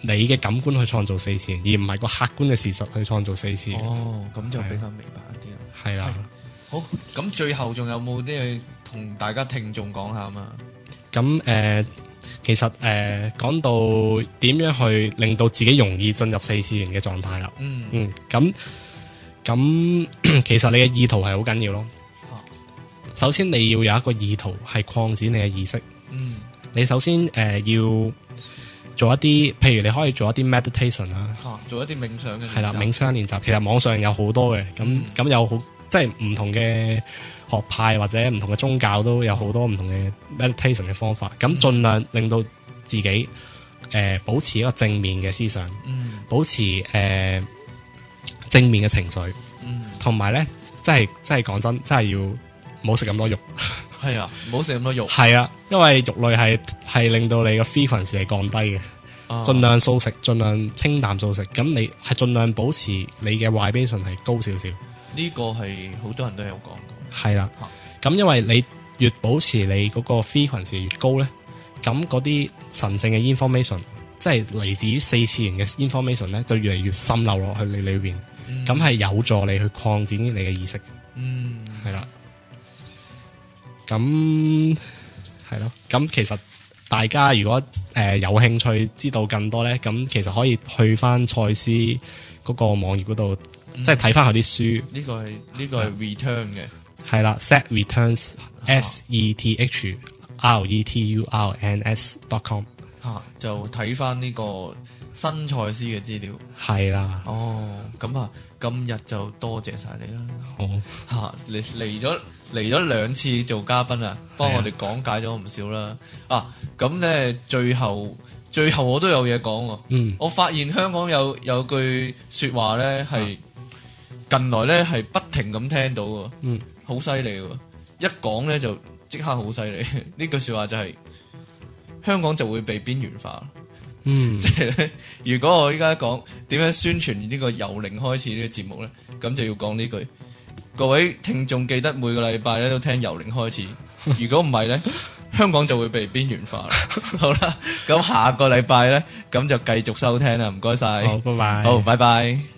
你嘅感官去創造四次元，而唔係個客觀嘅事實去創造四次元。 哦，咁就比較明白一啲啦。 係啦， 好，咁最後仲有冇啲嘢同大家聽眾講下嘛？ 咁誒、呃，其實誒講、呃、到點樣去令到自己容易進入四次元嘅狀態啦。 嗯嗯，咁咁其實你嘅意圖係好緊要咯。首先你要有一個意圖係擴展你嘅意識。 嗯，你首先誒、呃、要做一啲，譬如你可以做一啲 meditation 啦、 啊，做一啲冥想嘅係啦，冥想練習。其實網上有好多嘅，咁咁、嗯、有好即係唔同嘅學派或者唔同嘅宗教都有好多唔同嘅 meditation 嘅方法。咁盡量令到自己誒、呃、保持一個正面嘅思想， 嗯、保持誒、呃、正面嘅情緒，同埋咧，即係即係講真，真係要。唔好食咁多肉， 係啊，唔好食咁多肉， 係啊，因為肉類係係令到你個 frequency 係降低嘅，盡、啊、量素食，盡量清淡素食，咁你係盡量保持你嘅 vibration 係高少少。 呢個係好多人都有講過， 係啦，咁、啊、因為你越保持你嗰個 frequency 越高咧，咁嗰啲神聖嘅 information，即係嚟自於四次元嘅 information 咧，就越嚟越滲漏落去你裏邊，咁係、嗯、有助你去擴展你嘅意識。嗯，係啦。咁係咯，咁其實大家如果誒、呃、有興趣知道更多咧，咁其實可以去翻賽斯嗰個網頁嗰度，嗯、即係睇翻佢啲書。呢個係呢、呢個係 return 嘅，係啦 ，set returns s e t h r e t u r n s dot com 吓，就睇翻呢個新賽斯嘅資料。係啦，哦，咁啊，今日就多謝晒你啦。好吓，你嚟咗。嚟咗兩次做嘉賓啊，幫我哋講解咗唔少啦。啊，咁咧最後最後我都有嘢講喎。嗯，我發現香港有有句說話咧係近來咧係不停咁聽到喎。嗯，好犀利喎，一講咧就即刻好犀利。呢句說話就係、是、香港就會被邊緣化。嗯，即係咧，如果我依家講點樣宣傳呢個由零開始呢個節目咧，咁就要講呢句。各位聽眾記得每個禮拜咧都聽由零開始，如果唔係咧，香港就會被邊緣化啦。好啦，咁下個禮拜咧，咁就繼續收聽啦，唔該晒。好，拜拜。好，拜拜。